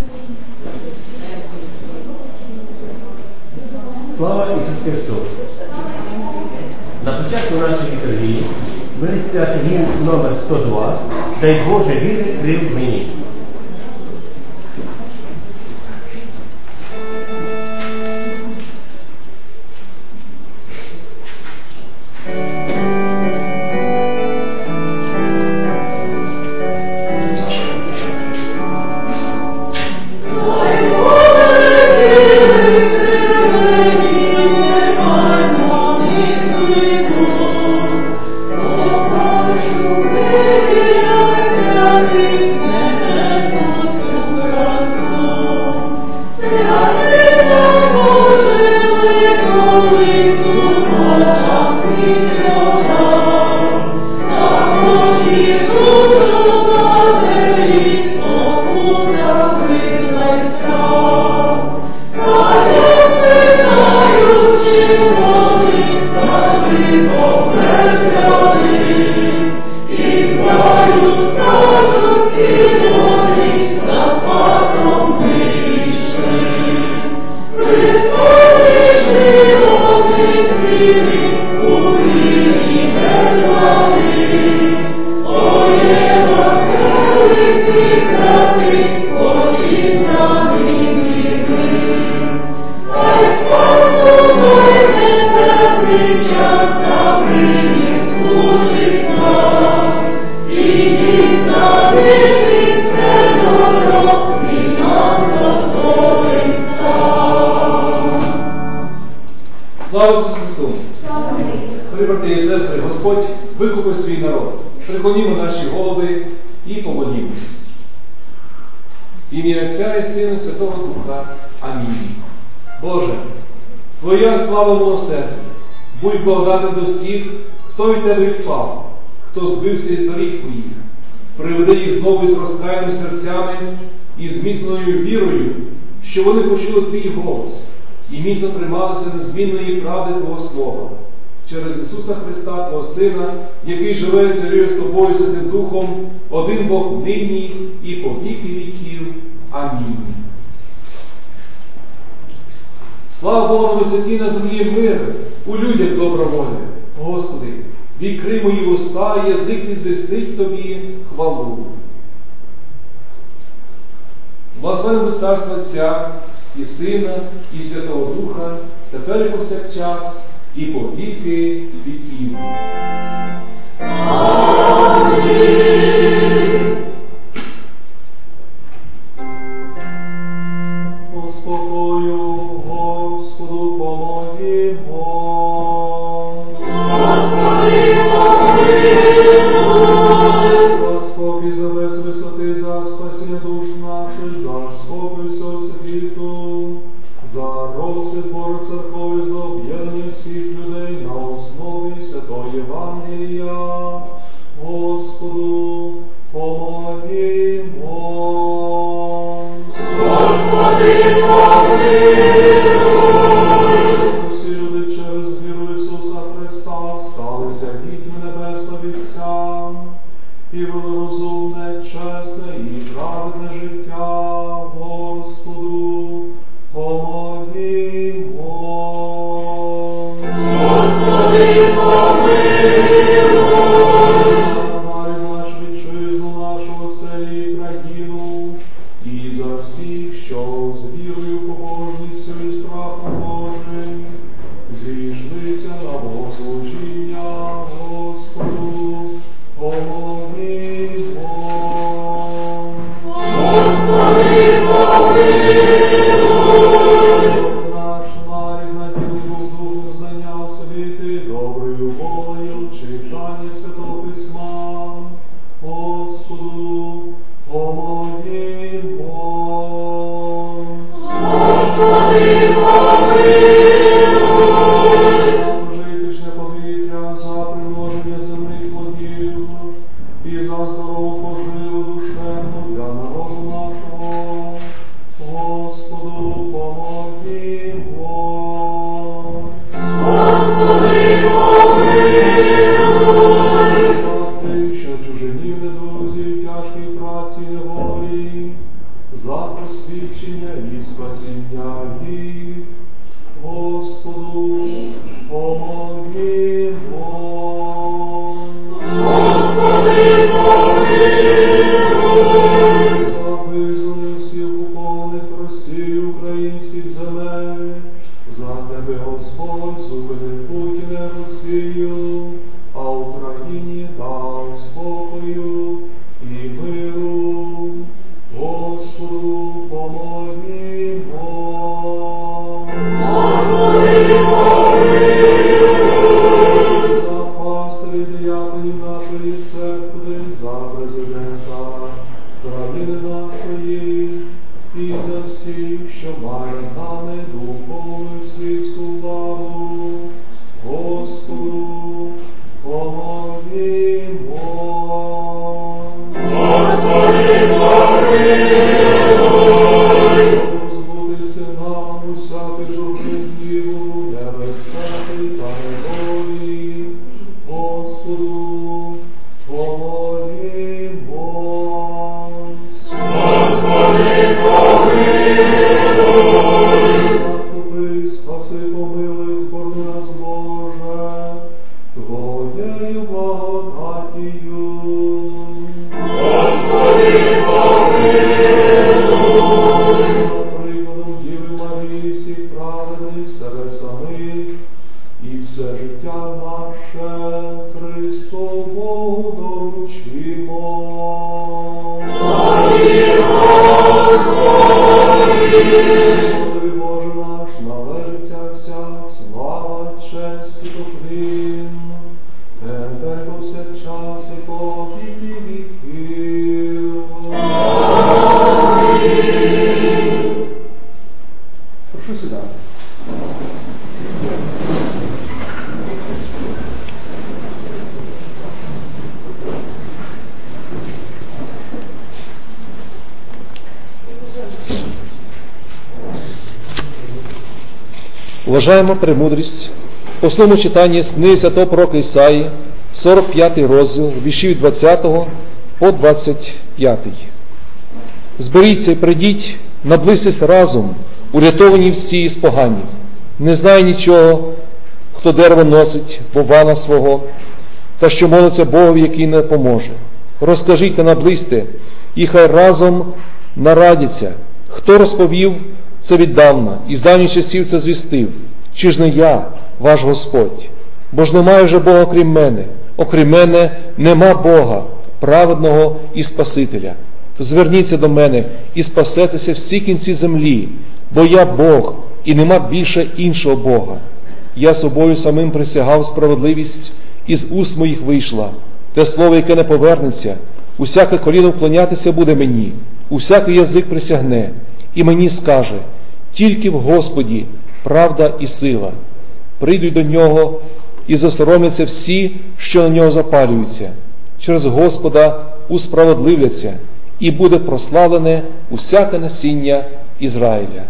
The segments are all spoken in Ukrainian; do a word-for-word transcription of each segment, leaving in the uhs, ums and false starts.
Слава Ісусу Христу! На початку нашої літургії ми відспівати гімн номер сто два «Дай Боже віри крил мені». Слава Ісусу Христу! Дорогі брати і сестри, Господь викупив свій народ. Приклонімо наші голови і помолімось. В ім'я Отця і Сина, Святого Духа. Амінь. Боже, Твоя слава милосердя, будь благодатна до всіх, хто від Тебе відпав, хто збився із доріг Твоїх. Приведи їх знову із розкаяними серцями і зміцненою вірою, що вони почули Твій голос і міцно трималися незмінної правди Твого Слова. Через Ісуса Христа, Твого Сина, який живе і царює з Тобою Святим Духом, один Бог нині і по віки віків. Амінь. Слава Богу на висоті, на землі мир, у людях добра воля. Господи, відкрий мої уста, язик мій звістить Тобі хвалу. Благословенне Царство Отця і Сина, і Святого Духа, тепер і повсякчас, і по віки віків. Амінь. Успокою Господу помолімо. Господи, помилуй. За спокій, за весь висоти, за спасіння душ наших, за спокій всього світу, за розсвіт Божої церкові, за об'єднання всіх людей на основі Святого Євангелія. Господу помолімо. Господи, помилуй. Усі люди через віру Ісуса Христа сталися дітьми Небесного Отця і вели розумне, чесне і праведне життя. Господу помолімо. Господи, помилуй. Народ наш, вітчизну нашу, оселі і країну, і за всіх, що з вірою, побожністю і страхом Божим зійшлися на богослужіння. Господу помолімо. Господи, помилуй. Наш нарід наділив Духом знання освіти, доброю волею, читання Святого Письма. Господу помолімо. Господи, помилуй. За пожиточне повітря, за примноження земних плодів і за здорову поживу душевну для народу нашого. Господу помолімо. просвідчення і спасіння їх. Господу помолімо. Господи, помилуй. За визволення всіх окупованих Росії українських земель, за тебе, Господь, зупини Путіна Росію, а Україні дав спокою і миру. Господу помолімо. Господи, помилуй. За пастирів діяконів нашої церкви, за президента країни нашої і за всіх, що мають нами духовну і світську владу. Господу помолімо. Господи, помилуй. Розбудися нам усякий журби гніву, небезпеки та недолі. Господу помолімо. Господи, помилуй. Заступи, спаси, помилуй, корми нас, Боже, Твоєю благодатію. Господи, помилуй. За прикладом Діви Марії всіх праведних, себе самих і все життя наше Христу Богу доручимо. Помилуй, Господи. Господи Боже наш, належиться вся слава, честь і поклін, тепер повсякчас і по віки віків. Амінь. Прошу сідати. Вважаємо премудрість в основному читанні з книги святого пророка Ісаї, сорок п'ятий розділ, вірші від двадцятого по двадцять п'ятий. Зберіться і прийдіть, наблизьтесь разом, урятовані всі із поганів. Не знає нічого, хто дерево носить, вована свого, та що молиться Богові, який не поможе. Розкажіть та наблизьте, і хай разом нарадяться. Хто розповів це віддавна, і з давніх часів це звістив? Чи ж не я, ваш Господь? Бо ж немає вже Бога крім мене, окрім мене нема Бога, праведного і Спасителя. Зверніться до мене і спасетеся всі кінці землі, бо я Бог, і нема більше іншого Бога. Я собою самим присягав справедливість, із уст моїх вийшла, те слово, яке не повернеться, усяке коліно вклонятися буде мені, усякий язик присягне, і мені скаже: тільки в Господі правда і сила. Прийдуть до нього і засоромляться всі, що на нього запалюються. Через Господа усправедливляться, і буде прославлене усяке насіння Ізраїля.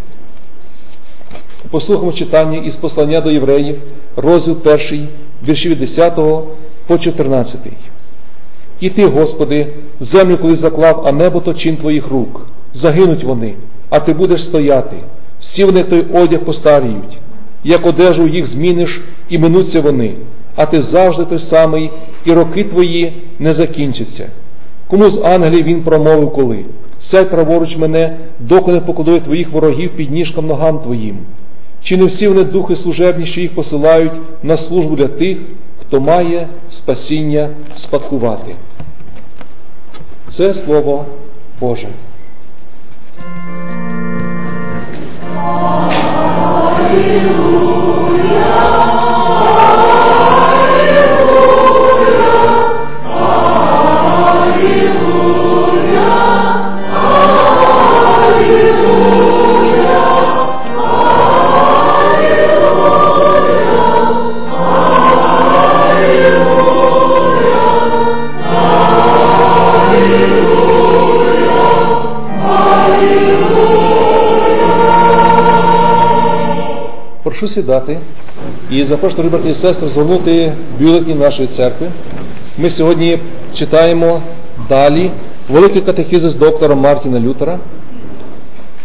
Послухаємо читання із послання до євреїв, розділ перший, вірші від десятого по чотирнадцятий. І ти, Господи, землю колись заклав, а небо то чин твоїх рук. Загинуть вони, а ти будеш стояти. Всі вони, той одяг, постаріють. Як одежу їх зміниш, і минуться вони. А ти завжди той самий, і роки твої не закінчаться. Кому з ангелів він промовив коли? Сядь праворуч мене, доки не покладу твоїх ворогів під ніжкам ногам твоїм. Чи не всі вони духи служебні, що їх посилають на службу для тих, хто має спасіння спадкувати? Це Слово Боже. Прошу сідати і запрошую, дорогі брати і сестри, згорнути бюлетні нашої церкви. Ми сьогодні читаємо далі Великий катехизис доктора Мартіна Лютера.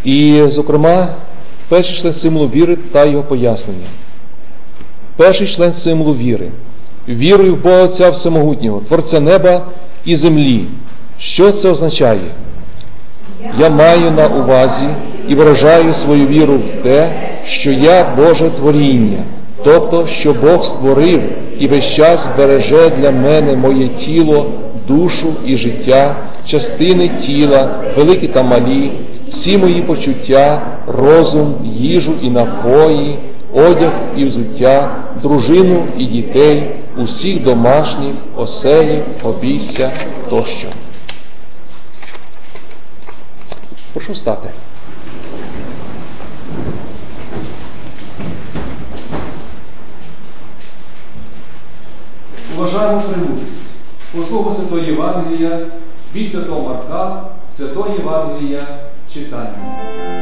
І, зокрема, перший член символу віри та його пояснення. Перший член символу віри. Вірую в Бога Отця Всемогутнього, Творця неба і землі. Що це означає? Я маю на увазі і виражаю свою віру в те, що я Боже творіння, тобто, що Бог створив і весь час береже для мене моє тіло, душу і життя, частини тіла, великі та малі, всі мої почуття, розум, їжу і напої, одяг і взуття, дружину і дітей, усіх домашніх, оселів, обійстя тощо. Прошу встати. Уважаємо премудрість. Послухаємо Святого Євангелія від Святого Марка, Святого Євангелія читання.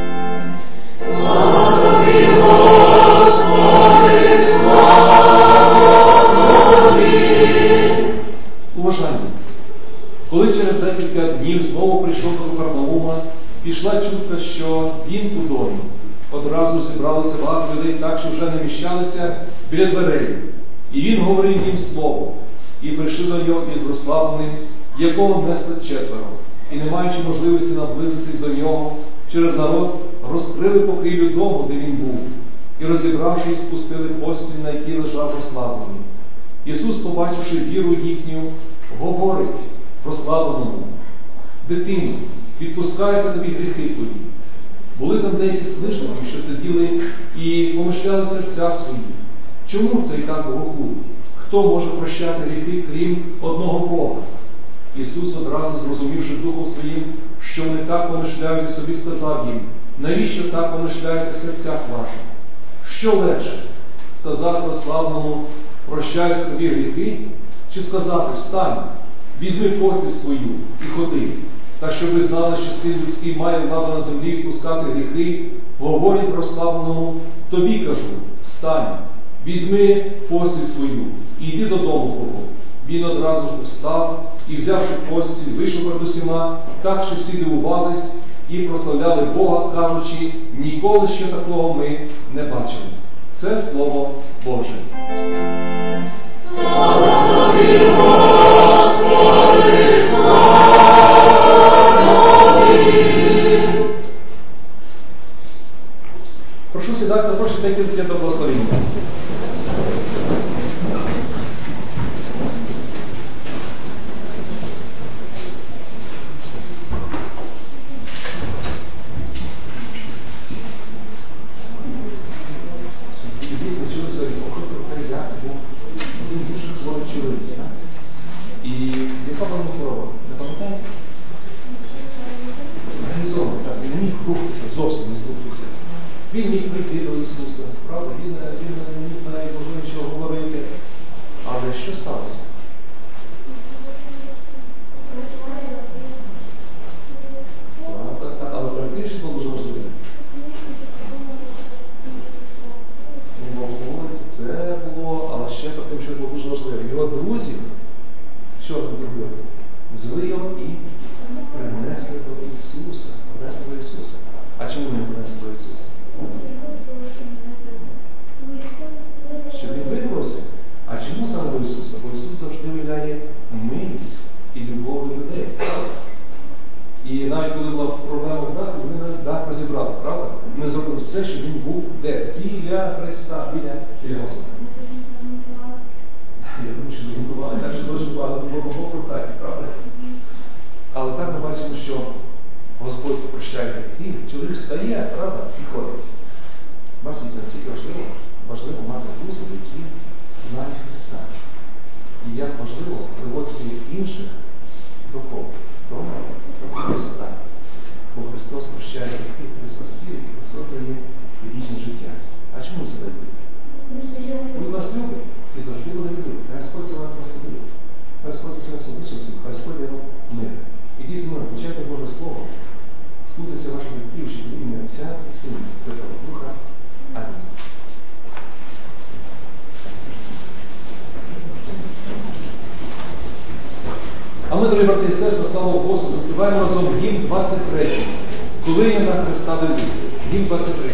Уважаємо. Коли через декілька днів знову прийшов до Капернаума, пішла чутка, що він у домі. Одразу зібралися багато людей так, що вже не міщалися біля дверей. І він говорив їм слово. І прийшли до нього із розслабленим, якого несли четверо. І, не маючи можливості наблизитись до нього, через народ розкрили покрівлю дому, де він був. І, розібравши, спустили постіль, на якій лежав розслаблений. Ісус, побачивши віру їхню, говорить розслабленому: дитино, відпускаються тобі гріхи твої. Були там деякі служники, що сиділи і помишляли в серцях своїх. Чому це і так богохулить? Хто може прощати гріхи, крім одного Бога? Ісус, одразу зрозумівши духом своїм, що вони так помишляють, собі сказав їм: навіщо так помишляєте в серцях ваших? Що легше? Сказати розслабленому: прощайся тобі гріхи? Чи сказати: встань, візьми постіль свою і ходи? Та щоб ви знали, що син людський має владу на землі відпускати гріхи, говорить розслабленому: тобі кажу, встань, візьми постіль свою і йди додому твого. Він одразу ж встав і, взявши постіль, вийшов перед усіма, так, що всі дивувались і прославляли Бога, кажучи: ніколи ще такого ми не бачили. Це Слово Боже. Слава тобі, Господи, слава тобі. Прошу сідати, запрошую декілька до благословення. І яка вам хвороба? Не пам'ятаєте? Організований, так, він міг рухатися, зовсім не рухатися. Він міг прийти до Ісуса, правда? Він, він не міг навіть можливо нічого говорити. Але що сталося? Але перед тим, що було дуже важливе. Не мог говорити, це було, але ще перед тим, що було дуже важливе. Його друзі, що вони зробили? Взяли його і принесли до Ісуса. Принесли до Ісуса. А чому вони принесли до Ісуса? Щоб він викрився. А чому саме до Ісуса? Бо Ісус завжди виявляє милість і любов до людей. І навіть коли була проблема в даху, вони навіть дах розібрали, правда? Ми зробили все, щоб він був де? Біля Христа, біля, біля Господа. Я думаю, що згодували, так що дуже багато допомогло в хаті, правда? Але так ми бачимо, що Господь прощає гріхи, чоловік встає, правда, і ходить. Бачите, наскільки важливо, важливо мати друзів, які знають Христа. І як важливо приводити інших до кого? До, до Христа. Бо Христос прощає гріхи, Христос сіль, Христос дає вічне життя. А чому це дає? Він вас любить і завжди буде любити. Хай Господь за вас розсудить. Хай Господь за себе судить, хай Господь дає вам мир. Ідіть зі мною, почайте Боже Слово, слухайтеся ваших батьків, що в ім'я Отця і Сина, Святого Духа. Амінь. А ми, дорогі брати і сестри, слава Господу, заспіваємо разом гімн двадцять третій. Коли я на Христа дивлюся, Гімн двадцять три.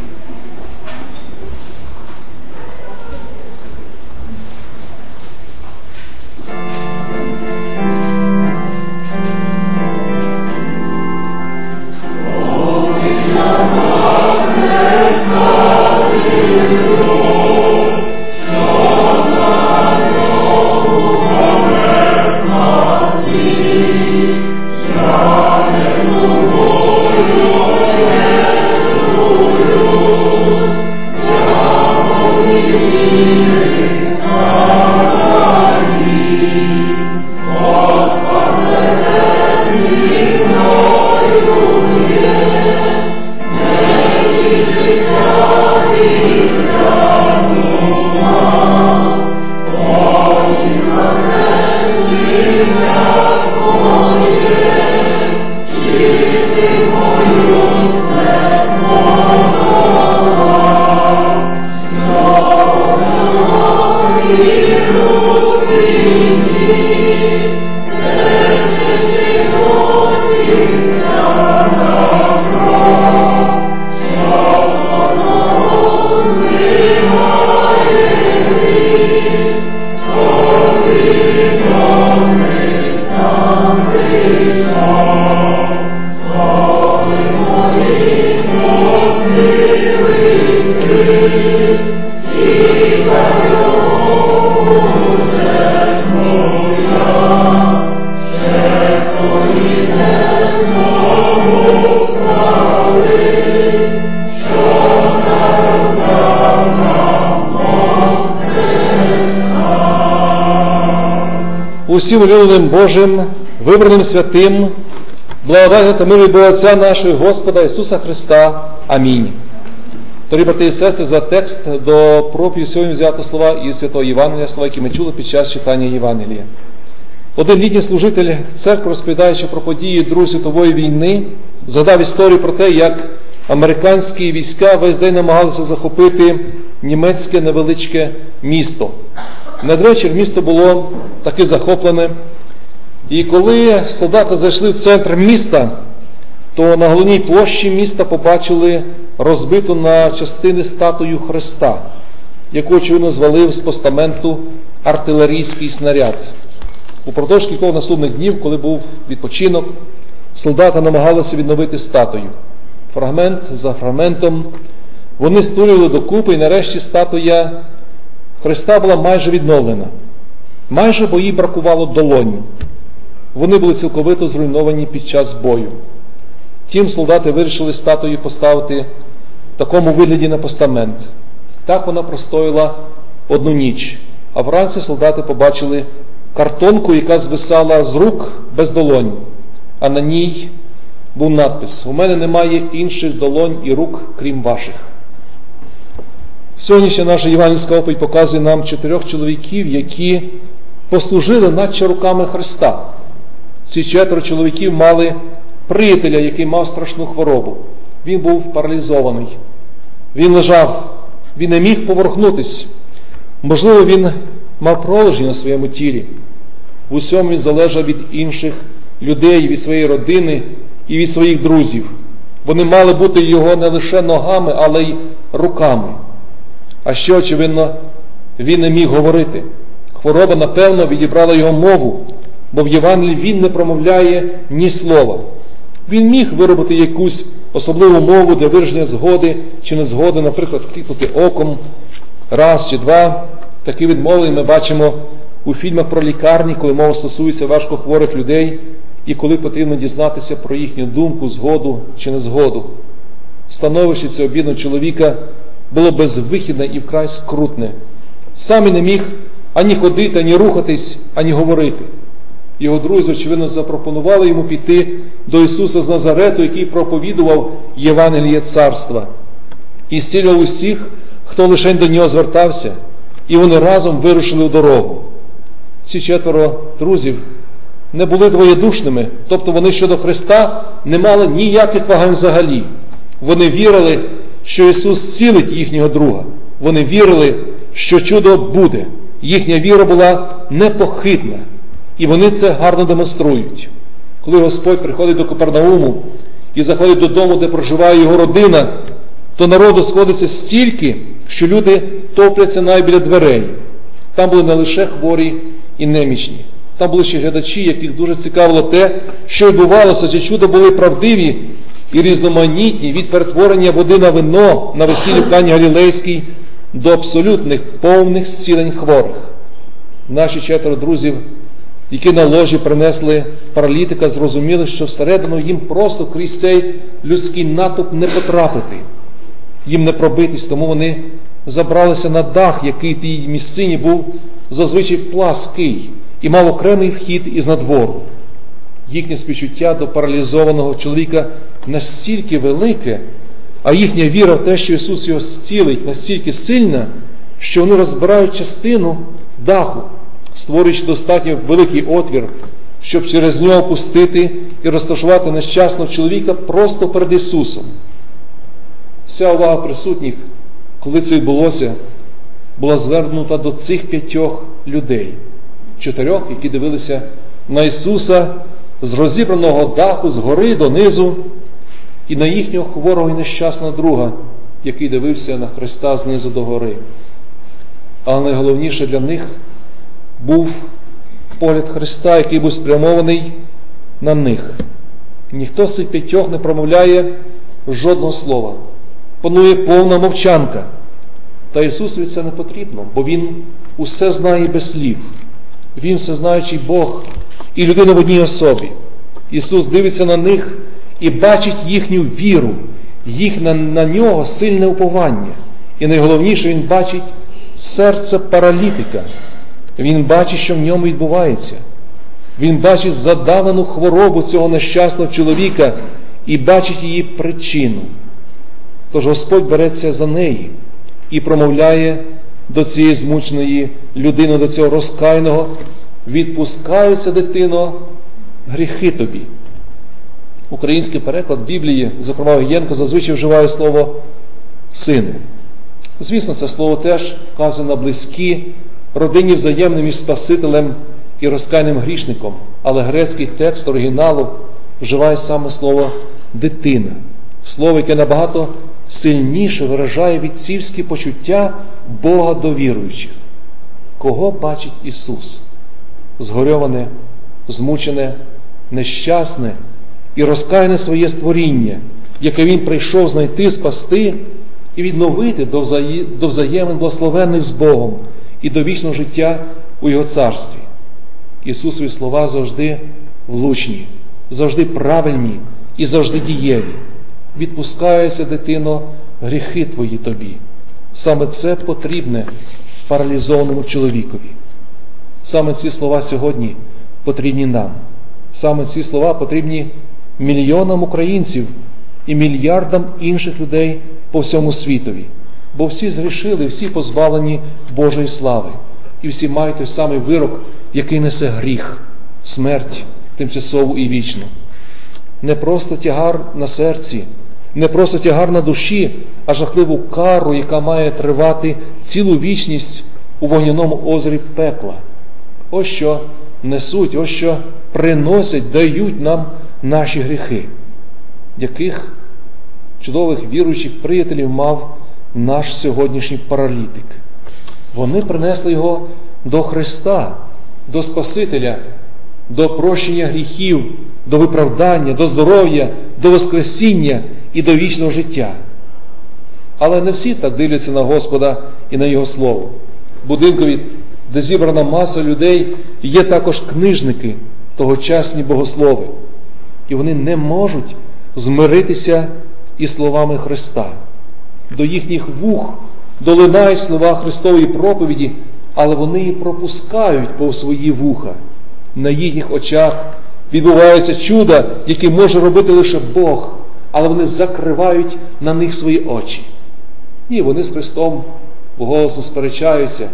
Усім улюбленим Божим, вибраним святим, благодать та мир від Бога Отця нашого Господа Ісуса Христа. Амінь. Дорогі брати і сестри, за текст до проповіді сьогодні взято слова із Святого Євангелія, слова, які ми чули під час читання Євангелія. Один літній служитель церкви, розповідаючи про події Другої світової війни, згадав історію про те, як американські війська весь день намагалися захопити німецьке невеличке місто. Надвечір місто було таки захоплене, і коли солдати зайшли в центр міста, то на головній площі міста побачили розбиту на частини статую Христа, яку, очевидно, звалив з постаменту артилерійський снаряд. Упродовж кількох наступних днів, коли був відпочинок, солдати намагалися відновити статую. Фрагмент за фрагментом вони стулювали докупи, і нарешті статуя Христа була майже відновлена. Майже, бо їй бракувало долонь. Вони були цілковито зруйновані під час бою. Втім, солдати вирішили статую поставити в такому вигляді на постамент. Так вона простояла одну ніч. А вранці солдати побачили картонку, яка звисала з рук без долонь. А на ній був надпис: «У мене немає інших долонь і рук, крім ваших». Сьогоднішня наша євангельська оповідь показує нам чотирьох чоловіків, які послужили наче руками Христа. Ці четверо чоловіків мали приятеля, який мав страшну хворобу. Він був паралізований. Він лежав, він не міг поворухнутись. Можливо, він мав проложення на своєму тілі. В усьому він залежав від інших людей, від своєї родини і від своїх друзів. Вони мали бути його не лише ногами, але й руками. А ще, очевидно, він не міг говорити. Хвороба, напевно, відібрала його мову, бо в Євангелії він не промовляє ні слова. Він міг виробити якусь особливу мову для вираження згоди чи незгоди, наприклад, кліпнути оком раз чи два. Такі відмови ми бачимо у фільмах про лікарні, коли мова стосується важкохворих людей і коли потрібно дізнатися про їхню думку, згоду чи незгоду. Становище цього бідного чоловіка було безвихідне і вкрай скрутне. Сам і не міг ані ходити, ані рухатись, ані говорити. Його друзі, очевидно, запропонували йому піти до Ісуса з Назарету, який проповідував Євангеліє Царства. І зцілював усіх, хто лише до нього звертався, і вони разом вирушили у дорогу. Ці четверо друзів не були двоєдушними, тобто вони щодо Христа не мали ніяких вагань взагалі. Вони вірили, що Ісус зцілить їхнього друга. Вони вірили, що чудо буде. Їхня віра була непохитна. І вони це гарно демонструють. Коли Господь приходить до Капернауму і заходить додому, де проживає його родина, то народу сходиться стільки, що люди топляться навіть біля дверей. Там були не лише хворі і немічні. Там були ще глядачі, яких дуже цікавило те, що відбувалося, чи чуда були правдиві і різноманітні від перетворення води на вино на весіллі в Кані Галілейській до абсолютних повних зцілень хворих. Наші четверо друзів, які на ложі принесли паралітика, зрозуміли, що всередину їм просто крізь цей людський натовп не потрапити, їм не пробитись, тому вони забралися на дах, який в тій місцині був зазвичай плаский і мав окремий вхід із надвору. Їхнє співчуття до паралізованого чоловіка настільки велике, а їхня віра в те, що Ісус його зцілить, настільки сильна, що вони розбирають частину даху, створюючи достатньо великий отвір, щоб через нього пустити і розташувати нещасного чоловіка просто перед Ісусом. Вся увага присутніх, коли це відбулося, була звернута до цих п'ятьох людей, чотирьох, які дивилися на Ісуса з розібраного даху згори донизу, і на їхнього хворого і нещасного друга, який дивився на Христа знизу до гори. Але найголовніше для них був погляд Христа, який був спрямований на них. Ніхто з цих п'ятьох не промовляє жодного слова. Панує повна мовчанка. Та Ісусові це не потрібно, бо Він усе знає без слів. Він всезнаючий Бог і людина в одній особі. Ісус дивиться на них і бачить їхню віру, їх на, на нього сильне уповання. І найголовніше, Він бачить серце паралітика. Він бачить, що в ньому відбувається. Він бачить задавану хворобу цього нещасного чоловіка і бачить її причину. Тож Господь береться за неї і промовляє до цієї змученої людини, до цього розкаяного: відпускаються, дитино, гріхи тобі. Український переклад Біблії, зокрема Огієнко, зазвичай вживає слово «сину». Звісно, це слово теж вказує на близькі родинні взаємини між Спасителем і розкаяним грішником, але грецький текст оригіналу вживає саме слово «дитина». Слово, яке набагато сильніше виражає відцівські почуття Бога до віруючих. Кого бачить Ісус? Згорьоване, змучене, нещасне і розкаяне своє створіння, яке Він прийшов знайти, спасти і відновити до, взаї... до взаємин благословенних з Богом і до вічного життя у Його царстві. Ісусові слова завжди влучні, завжди правильні і завжди дієві. Відпускаються, дитино, гріхи твої тобі. Саме це потрібне паралізованому чоловікові. Саме ці слова сьогодні потрібні нам. Саме ці слова потрібні мільйонам українців і мільярдам інших людей по всьому світові. Бо всі згрішили, всі позбавлені Божої слави. І всі мають той самий вирок, який несе гріх, смерть тимчасову і вічну. Не просто тягар на серці, не просто тягар на душі, а жахливу кару, яка має тривати цілу вічність у вогняному озері пекла. Ось що несуть, ось що приносять, дають нам наші гріхи. Яких чудових віруючих приятелів мав наш сьогоднішній паралітик. Вони принесли його до Христа, до Спасителя, до прощення гріхів, до виправдання, до здоров'я, до воскресіння і до вічного життя. Але не всі так дивляться на Господа і на Його Слово. В будинкові, де зібрана маса людей, є також книжники, тогочасні богослови. І вони не можуть змиритися із словами Христа. До їхніх вух долинають слова Христової проповіді, але вони її пропускають повз свої вуха. На їхніх очах відбуваються чуда, які може робити лише Бог, але вони закривають на них свої очі. Ні, вони з Христом голосно сперечаються.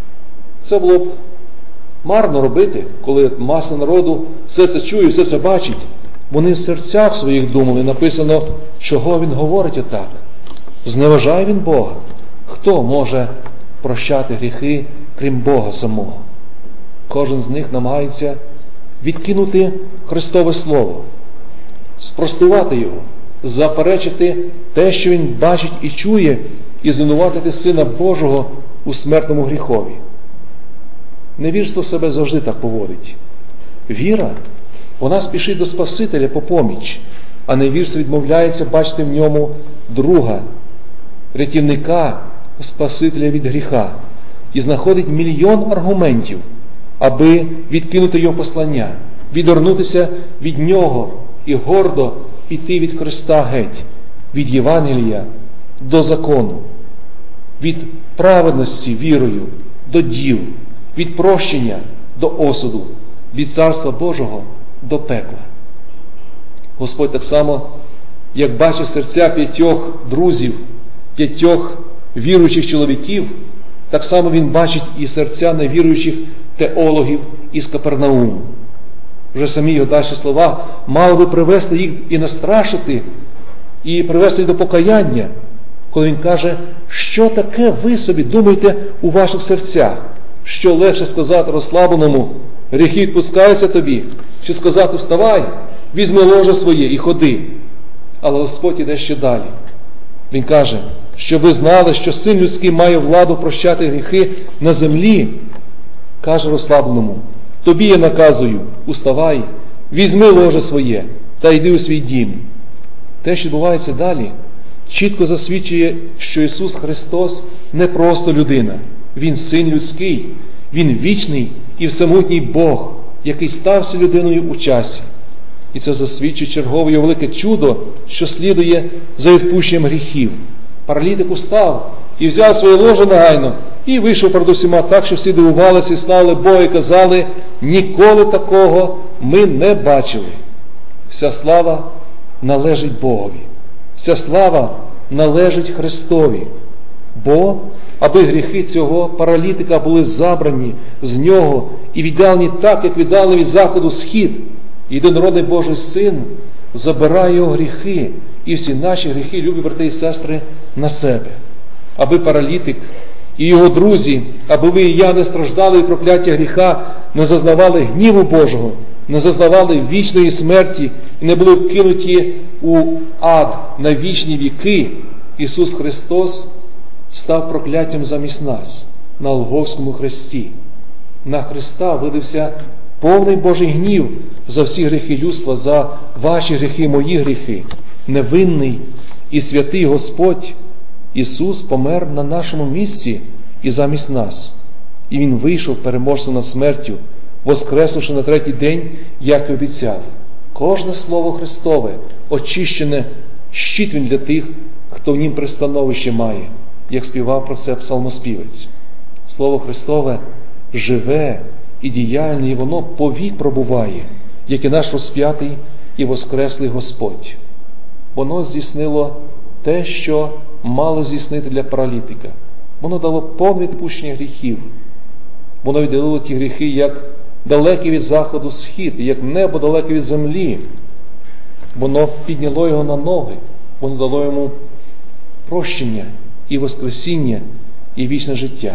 Це було б марно робити, коли маса народу все це чує, все це бачить. Вони в серцях своїх думали, написано, чого він говорить отак. Зневажає він Бога. Хто може прощати гріхи, крім Бога самого? Кожен з них намагається відкинути Христове Слово. спростувати його, заперечити те, що він бачить і чує, і звинуватити Сина Божого у смертному гріхові. Невірство себе завжди так поводить. Віра, вона спішить до Спасителя по поміч, а невірство відмовляється бачити в ньому друга, рятівника, Спасителя від гріха, і знаходить мільйон аргументів, аби відкинути його послання, відвернутися від нього і гордо піти від Христа геть, від Євангелія до закону, від праведності вірою до діл, від прощення до осуду, від Царства Божого до пекла. Господь так само, як бачить серця п'ятьох друзів, п'ятьох віруючих чоловіків, так само Він бачить і серця невіруючих теологів із Капернауму. Вже самі його далі слова мали би привести їх і настрашити, і привести їх до покаяння, коли він каже, що таке ви собі думаєте у ваших серцях? Що легше сказати розслабленому, гріхи відпускаються тобі, чи сказати вставай, візьми ложе своє і ходи. Але Господь іде ще далі. Він каже, що ви знали, що Син людський має владу прощати гріхи на землі. Каже розслабленому, тобі я наказую, уставай, візьми ложе своє та йди у свій дім. Те, що відбувається далі, чітко засвідчує, що Ісус Христос не просто людина. Він Син людський, Він вічний і всемогутній Бог, який стався людиною у часі. І це засвідчує чергове його велике чудо, що слідує за відпущенням гріхів. Паралітик устав і взяв своє ложе негайно, і вийшов перед усіма так, що всі дивувалися і славили Бога, і казали, ніколи такого ми не бачили. Вся слава належить Богові. Вся слава належить Христові. Бо, аби гріхи цього паралітика були забрані з нього і віддалені так, як віддали від заходу схід, єдинородний Божий Син забирає його гріхи і всі наші гріхи, любі брати і сестри, на себе. Аби паралітик і його друзі, аби ви і я не страждали від прокляття гріха, не зазнавали гніву Божого, не зазнавали вічної смерті і не були вкинуті у ад на вічні віки, Ісус Христос став прокляттям замість нас на Голгофському хресті. На Христа видався повний Божий гнів за всі гріхи людства, за ваші гріхи, мої гріхи. Невинний і святий Господь Ісус помер на нашому місці і замість нас. І Він вийшов переможцем над смертю, воскреснувши на третій день, як і обіцяв. Кожне слово Христове очищене, щит Він для тих, хто в нім пристановище має, як співав про це псалмоспівець. Слово Христове живе і діяльне, і воно повік пробуває, як і наш розп'ятий і воскреслий Господь. Воно здійснило те, що мало здійснити для паралітика. Воно дало повне відпущення гріхів. Воно відділило ті гріхи, як далекі від заходу схід, як небо далеке від землі. Воно підняло його на ноги, воно дало йому прощення і воскресіння, і вічне життя.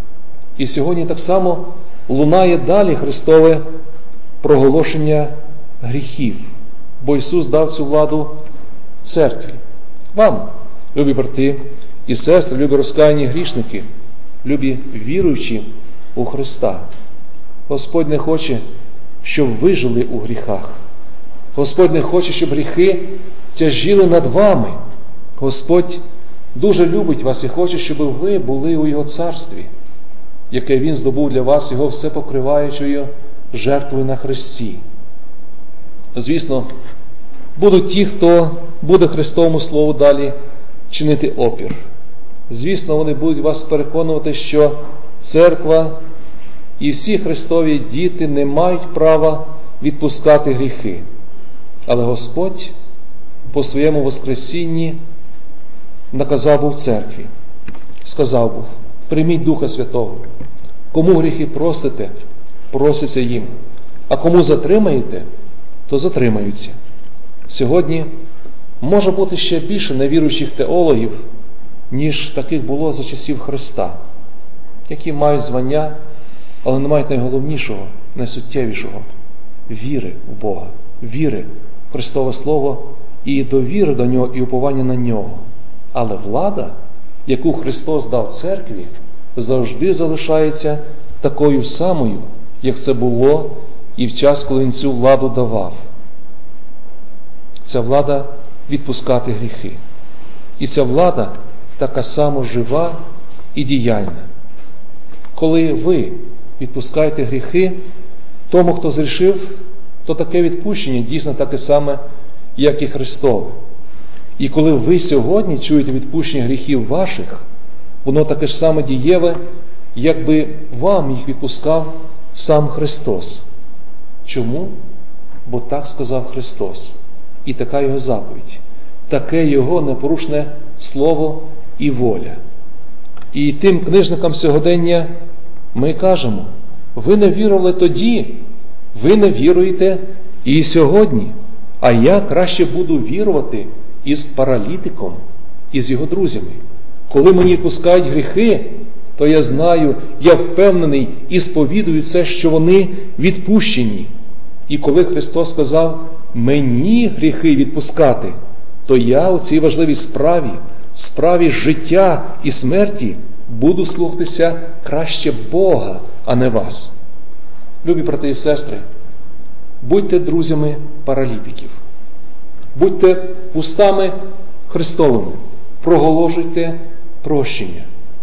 І сьогодні так само лунає далі Христове проголошення гріхів, бо Ісус дав цю владу церкві. Вам, любі брати і сестри, любі розкаяні грішники, любі віруючі у Христа. Господь не хоче, щоб ви жили у гріхах. Господь не хоче, щоб гріхи тяжіли над вами. Господь дуже любить вас і хоче, щоб ви були у Його царстві, яке Він здобув для вас, Його все покриваючою жертвою на хресті. Звісно, будуть ті, хто буде Христовому Слову далі чинити опір. Звісно, вони будуть вас переконувати, що церква і всі Христові діти не мають права відпускати гріхи. Але Господь по своєму воскресінні наказав був церкві, сказав був, прийміть Духа Святого. Кому гріхи простите, проситься їм, а кому затримаєте, то затримаються. Сьогодні може бути ще більше невіруючих теологів, ніж таких було за часів Христа, які мають звання, але не мають найголовнішого, найсуттєвішого – віри в Бога, віри Христове Слово і довіри до Нього, і уповання на Нього. Але влада, яку Христос дав церкві, завжди залишається такою самою, як це було і в час, коли Він цю владу давав. Ця влада відпускати гріхи. І ця влада така само жива і діяльна. Коли ви відпускаєте гріхи, тому, хто зрішив, то таке відпущення дійсно таке саме, як і Христове. І коли ви сьогодні чуєте відпущення гріхів ваших, воно таке ж саме дієве, якби вам їх відпускав сам Христос. Чому? Бо так сказав Христос. І така Його заповідь. Таке Його непорушне слово і воля. І тим книжникам сьогодення ми кажемо: ви не вірували тоді, ви не віруєте і сьогодні. А я краще буду вірувати із паралітиком, із його друзями. Коли мені відпускають гріхи, то я знаю, я впевнений і сповідую це, що вони відпущені. І коли Христос сказав мені гріхи відпускати, то я у цій важливій справі, справі життя і смерті, буду слухатися краще Бога, а не вас. Любі брати і сестри, будьте друзями паралітиків. Будьте вустами Христовими. Проголошуйте прощення.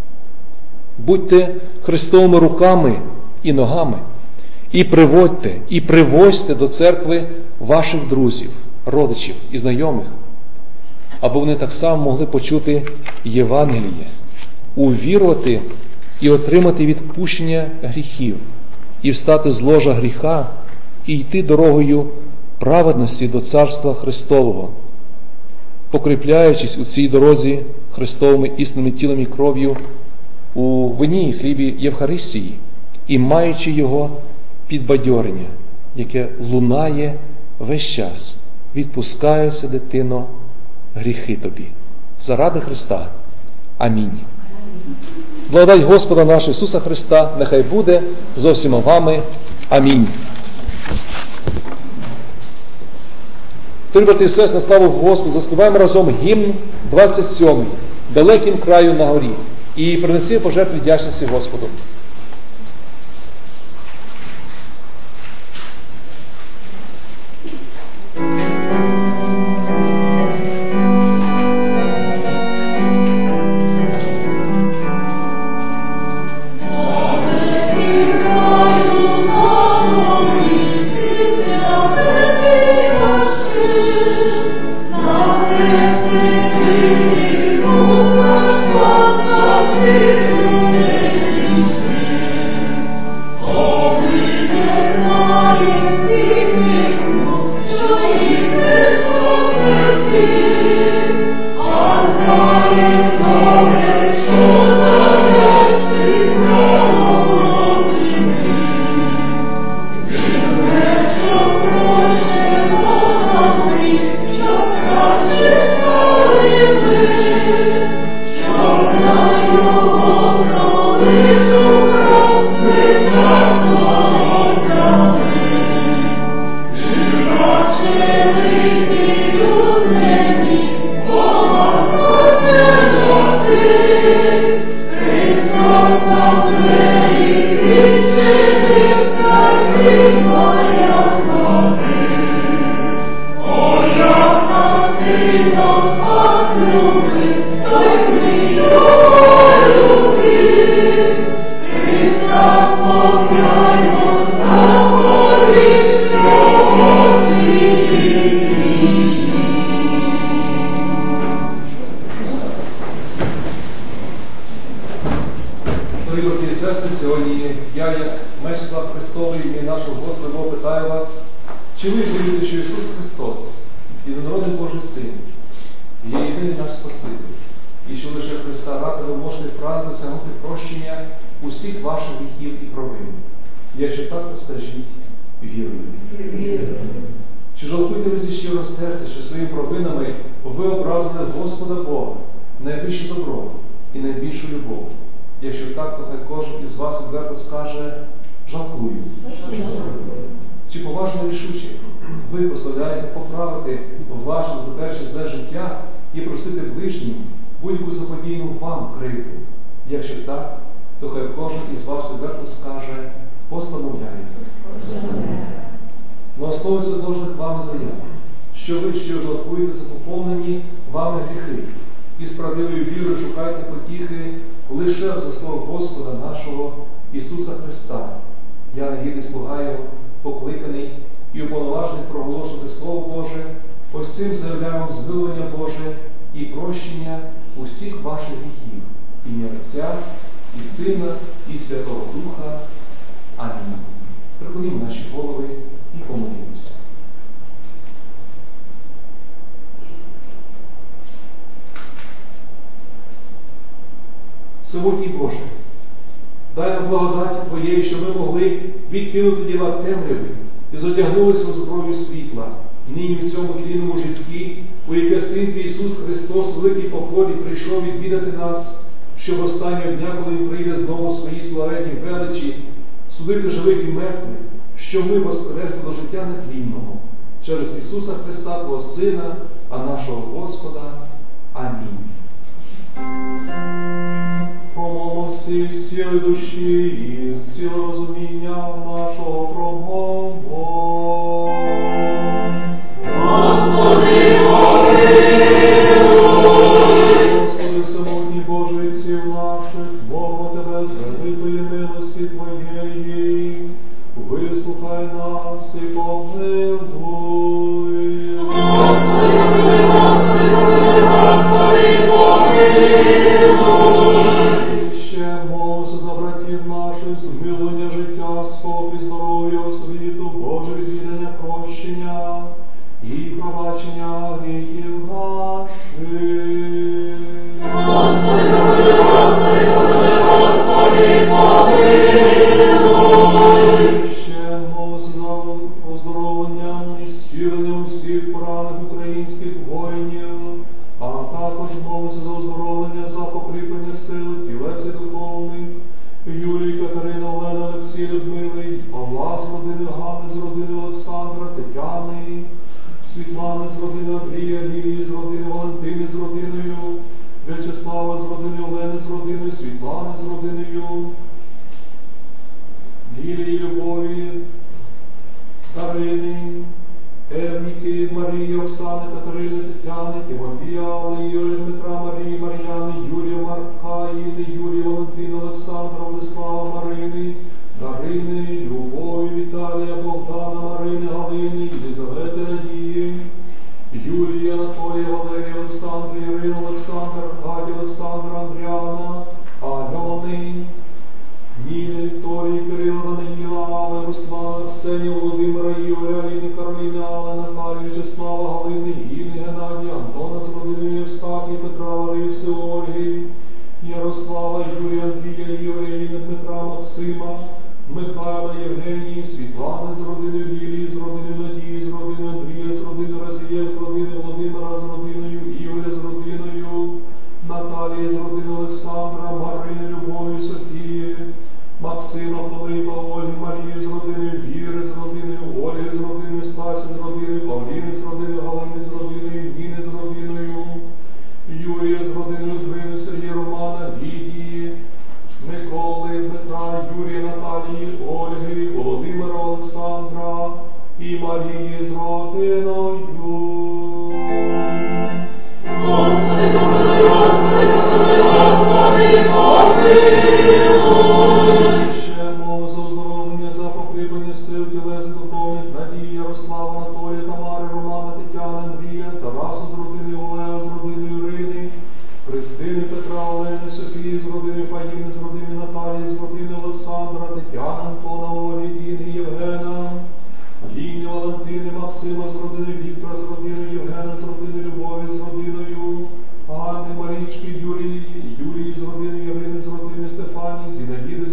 Будьте Христовими руками і ногами. І приводьте, і привозьте до церкви ваших друзів, родичів і знайомих, аби вони так само могли почути Євангеліє, увірувати і отримати відпущення гріхів, і встати з ложа гріха, і йти дорогою праведності до Царства Христового, покріпляючись у цій дорозі Христовими істинними тілом і кров'ю у вині і хлібі Євхаристії, і маючи його підбадьорення, яке лунає весь час. Відпускаються, дитино, гріхи тобі. Заради Христа. Амінь. Благодать Господа нашого Ісуса Христа нехай буде з усіма вами. Амінь. Дорогі брати і сестри, на славу Господу, заспіваємо разом гімн двадцять сьомий «Далеким краю на горі» і принеси пожертви вдячності Господу. Чи ви вірите, що Ісус Христос, єдинородний Божий Син, є єдиний наш Спаситель, і що лише Христа ради ви можете прагнути досягнути прощення усіх ваших гріхів і провин? Якщо так, то скажіть вірую. Чи жалкуєте ви зі щирого серця, що своїми провинами ви образили Господа Бога, найвище добро і найбільшу любов? Якщо так, то хай кожен із вас відверто скаже жалкую. Чи поважно рішуче ви поставляєте поправити ваше дотерше зле життя і просити ближнім будь-яку заподійну вам кривду? Якщо так, то хай кожен із вас відверто скаже: постановляю. На основі зложених вами заяв, що ви, що жалкуєте за поповнені вами гріхи, і з правдивою вірою шукайте потіхи лише за слово Господа нашого Ісуса Христа. Я, негідний слуга Його, покликаний і уповноважений проголошувати Слово Боже, ось цим заявляємо змилування Боже і прощення усіх ваших гріхів, ім'я Отця, і Сина, і Святого Духа. Амінь. Приклонімо наші голови і помолімося. Всемогутній Боже, дай нам благодаті Твоєї, щоб ми могли відкинути діла темряви і затягнулися у зброю світла, нині в цьому тлінному житті, у яке Син Твій Ісус Христос у великій покорі прийшов відвідати нас, щоб останнього дня, коли Він прийде знову у своїй славетній величі, судити живих і мертвих, щоб ми воскресли до життя нетлінного, через Ісуса Христа, Твого Сина, а нашого Господа. Амінь. Промовимо всі сили душі і з цілого розуміння нашого промову. Господи, помилуй! Господи, всемогутній Боже, відців наших, молимо Тебе з великої милості Твоєї, вислухай нас і помилуй. Господи, Господи, Господи, помилуй! Ще молимося за братів наших, змилування життя, спокій, здоров'я, освіту, Боже відвідання, прощення і пробачення гріхів наших. Господи, Господи, Господи, помилуй! Ще молимося за оздоровлення і зціленням всіх поранених українських воїнів, а також молимося за оздоровлення, за покріплення сил, тілець і духовних, Юлії, Катерина, Олена, Олексій, Людмили, Павла з родини Ганни, з родини Олександра, Тетяни, Світлани з родини Андрія, Лілії з родини Валентини з родиною, В'ячеслава з родини Олени з родиною, Світлани з родиною, Лілії, Любові, Карини, Евніки, Марії, Оксани, Катерини, Тетяни, Тимофія, Алли, Юрія, Дмитра, Марії, Мар'яни, Юрія, Марка, Іни, Юрія, Валентина, Олександра, Владислава, Марини, Дарини, Любові, Віталія, Богдана, Марини, Галини, Єлизавети, Надії, Юлії, Анатолія, Валерія, Олександра, Ірина, Олександр, Аркадія, Олександра, Андріана, Альони, Ніни, Вікторії, Кирила, Даниїла, Алли, Руслана, Арсенія, Володимира, Ігоря, Аліни, Кароліни, Алли, Наталії, Вячеслава, Галини, Інни, Геннадія, Антона з родиною, Євстахії, Петра, Лариси, Ольги, Ярослава, Юрія, Андрія, Ігоря, Інни, Дмитра, Максима, Михайла, Євгенії, Світлани з родиною Лілії, з родиною Надії, з родиною Андрія, з родиною Разієв, з родиною Володимира, з родиною Ігоря, з родиною Наталії, з родиною Олександра, Марини, Любові, Софії, Максима, Пилипа, Ольги, Марії, з родиною Віри, з родиною Ольги, з родиною Стасі, з родиною Павліни, з родиною Галини, з родиною Ніни, з родиною Юрія, з родиною Двини, Сергія, Романа, Лідії, Миколи, Дмитра, Юрія, Наталії, Ольги, Володимира, Олександра і Марії з родиною. Господи, помилуй, Господи, помилуй, Господи, помилуй! Ще мов за оздоровлення, за покріплення сил, тілес духовних, Надії, Ярослава, Анатолія, Тамари, Романа, Тетяни, Андрія, Тараса з родини Олега, з родини Ірини, Христини, Петра, Олени, Софії, з родини Фаїни, з родини Наталії, з родини Олександра, Тетяни, Антона, Олі, Діни, Євгена, Ліни, Валентини, Максима, з родини Віктора, з родиною Євгена, з родиною Любові, з родиною Ганни, Марічки, Юрії, Юрії, з родиною Ірини, з родини Стефанії, Зінаїди,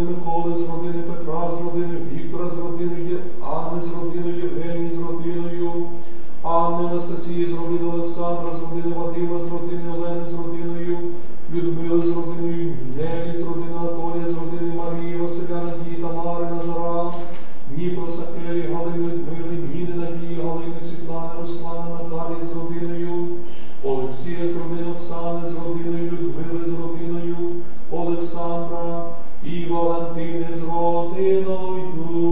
родини Миколи, з родини Петра, з родини Віктора, з родини Анни, з родиною Євгенії, з родиною Анни, Анастасії, з родини Олександра, з родини Вадима, з родини Олени, з родиною Людмили, з родиною Нелі, з родини Анатолія, з родини Марії, Василя, Надії, Тамари, Назара, Дніпра, Сахелі, Галини, Людмили, Ніни, Надії, Галини, Світлани, Руслана, Наталії, з родиною Олексія, з родини Оксани, з родиною Людмили, з родиною Олександра і Валентини, з родиною.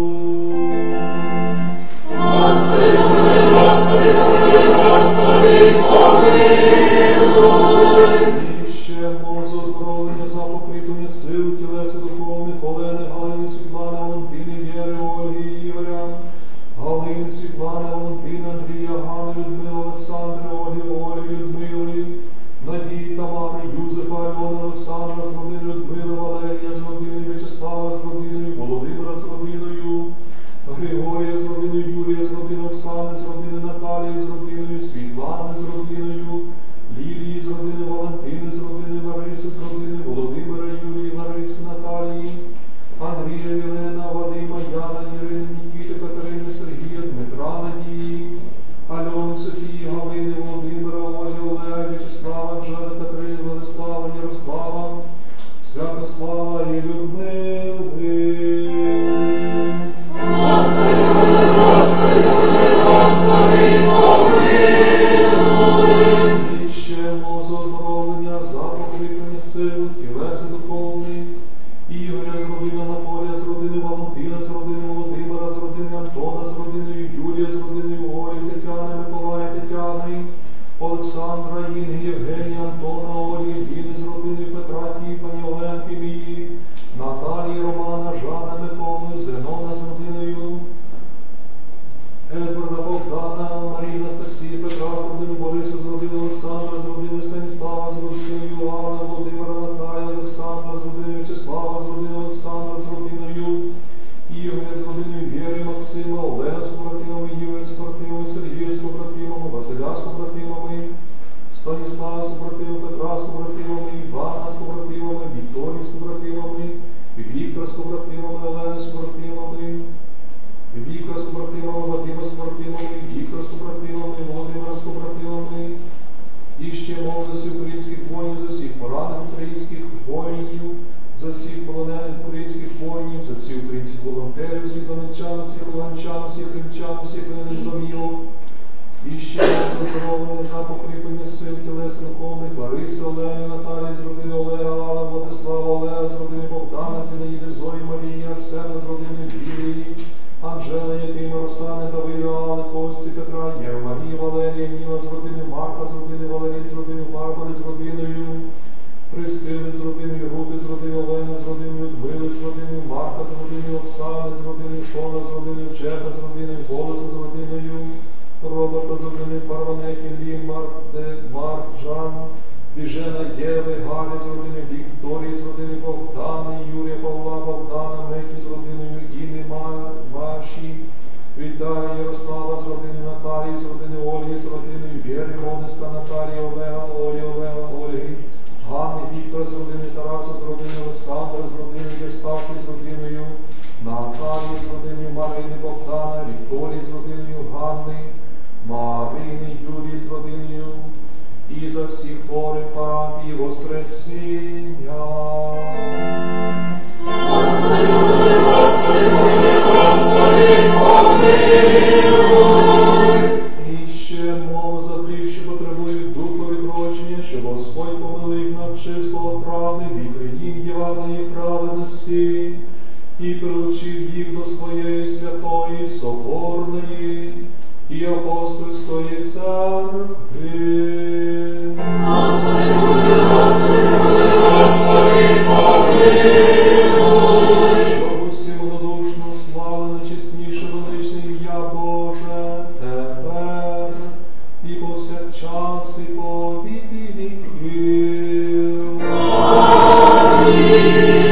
Господи, Господи, Господи, помилуй. І ще мозу оздоровлення за покріплення сил, тілеса духовних, Олени, Галини, Світлани, Валентини, Вєри, Ольги, Ігоря, Галини, Світлани, Валентини, Андрія, Гани, Людмили, Олександри, Ольги, Олі, Людмили, Надії, Тамари, Юзефа, Альони, Олександра, з родини Людмили, Валерія, з родиною В'ячеслава, з родиною Володимира, з родиною Григорія, з родиною Юрія, з родиною Оксани, з родини Наталії, з родиною Світлани, з родиною Лілії, з родини Валентини, з родини Лариси, з родини Володимира, Юрії, Лариси, Наталії, Андрія, Єлена, Вадима, Яна, Ірини, Нікіти, Катерини, Сергія, Дмитра, Надії, Альони, Софії, Галини, Володимира, Ольги, Олега, В'ячеслава, Анжели, Катерини, Владислава, Ярослава, Святослава і Людмили. Господи, Господи, Господи, помилуй. І ще мозу оздоровлення за покріплення сил, тілеса духовних, Ігоря, з родини Анатолія, з родини Валентина, з родини Володимира, з родини Антона, з родиною Юрія, з родиною Олі, Тетяни, Миколая, Тетяни, Олександра, Інги, Євгенія, Антона, Олі, Ліни, з родини Петра, Тіфані, Оленки, Мії, Наталії, Романа, Жана, Миколи, Зенона, з родиною Едварда, Богдана, Марії, Анастасії, Петра, з родини Бориса, з родини Олександра, з родини Станіслава, з родиною Йоанна, Володимира, Наталія, Олександра, з родини В'ячеслава, з родини Олександра, з родиною Ігоря, з родиною Вєри, Максима, Олена з побратимами, Юрія з побратимами, Сергія з побратимами, Василя з побратимами, Станіслава з побратимами, Петра з побратимами, Івана з побратимами, Вікторії з побратимами, Віктора з побратимами, Олени з побратимами, Віктора з побратимами, Вадима з побратимами, Віктора з побратимами, Володимира з побратимами. І ще мов за всіх українських воїнів, за всіх поранених українських воїнів, за всіх полонених українських воїнів, за всіх українських волонтерів, всіх донеччан, всіх луганчан, всіх кримчан, всіх воєнних зломілок. І ще за оздоровлення за покріплення сил тілес духовних, Лариси, Олени, Наталії, з родини Олега, Алла, Владислава, Олега, з родини Богдана, Зінаїди, Зої, Марії, Арсена, з родини Вірії, Анжели, Якима, Росани, Давида, Алли, Кості, Петра, Єва, Марії, Валерія, Ніна, з родини Марка, з родини Валерії, з родини Барбари, з родиною Присили, з родиною Рути, з родиною Олени, з родиною Людмили, з родиною Марка, з родиною Оксани, з родиною Шона, з родиною Чеха, з родиною Голоса, з родиною Роберта, з родиною Парванехи, Лі, Марде, Марджан, Біжена, Єви, Галі, з родиною Вікторії, з родиною Богдани, Юрія, Павла, Богдана, Мехі, з родиною Інни, Маші, Віталія, Ярослава, з родиною Наталії, з родиною Ольги, з родиною Вєри, Гонеста, Наталії, Олега, Олі, Олега, Ольги, Ганни, Віктора, з родиною Тараса, з родиною Олександра, з родиною Євстахи, з родиною Наталії, з родиною Марини, Богдана, Вікторії, з родиною Ганни, Марини, Юрії, з родиною і за всіх хворих папі Воскресіння. Господи, Господи, Господи, помилуй. І ще мов за тих, що потребують духа відродження, щоб Господь помилив їх навчив слова правди, вікри їм Євангелії праведності, і прилучив їх до своєї святої, соборної і апостольської церкви. Господи, Господи, Господи, помилуй. Щоб усім однодушно слави найчесніше величне ім'я Боже, тепер і повсякчас, і по віки віків. Амінь.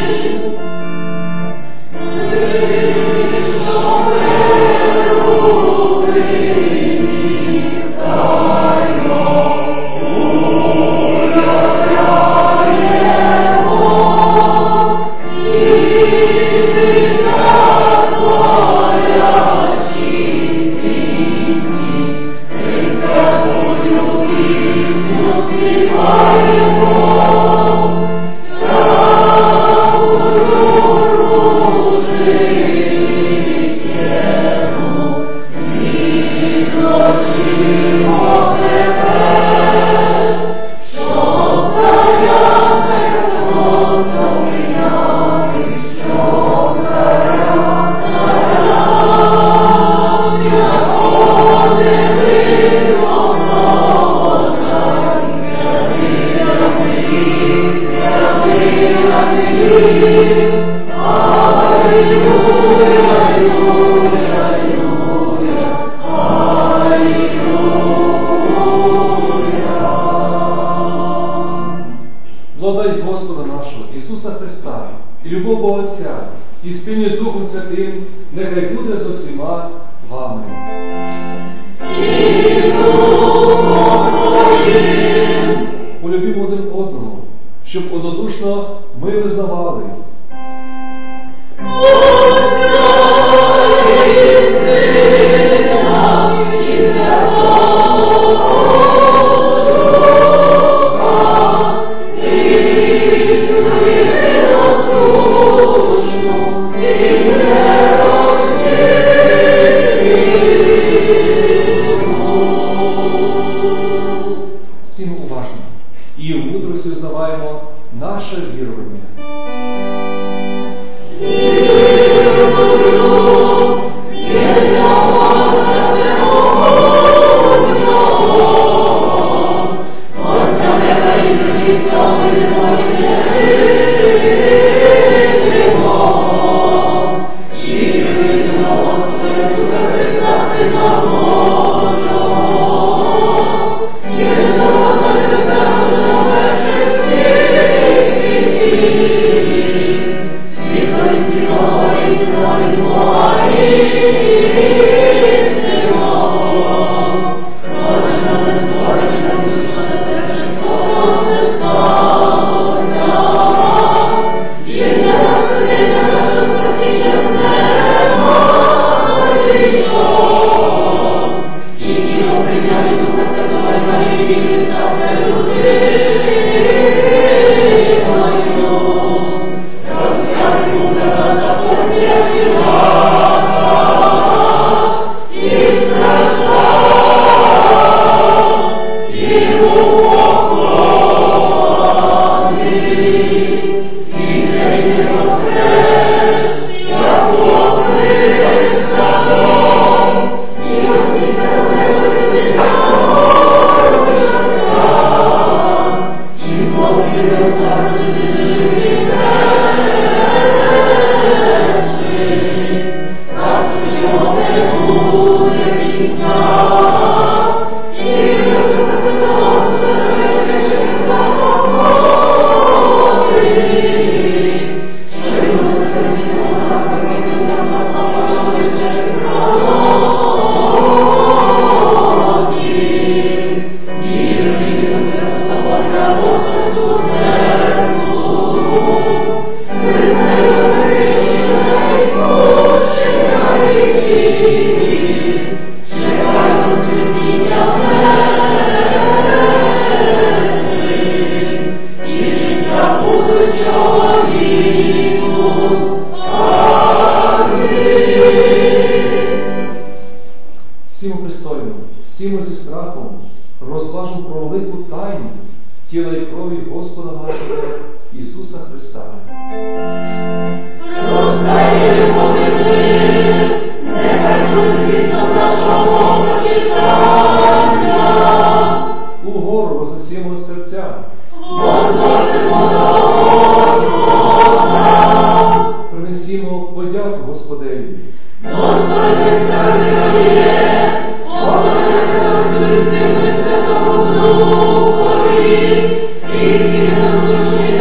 Благодать Господа нашого, Ісуса Христа, і любов Бога Отця, і спільність з Духом Святим, нехай буде з усіма вами. Полюбімо один одного, щоб однодушно ми визнавали. Всім уважно. І у мудрості знаваємо наше вірування. Всімо пристойно, всімо зі страхом розважимо про велику тайну тіла і крові Господа нашого Ісуса Христа. Розкаємо ми, нехай буде звісно нашого почитання. Угору вознесімо серця. Возносимо до Господа. Принесімо подяку Господеві. Достойний справедливіє, поклоняйся Отцю і Сину і Святому Духові, і всі насущні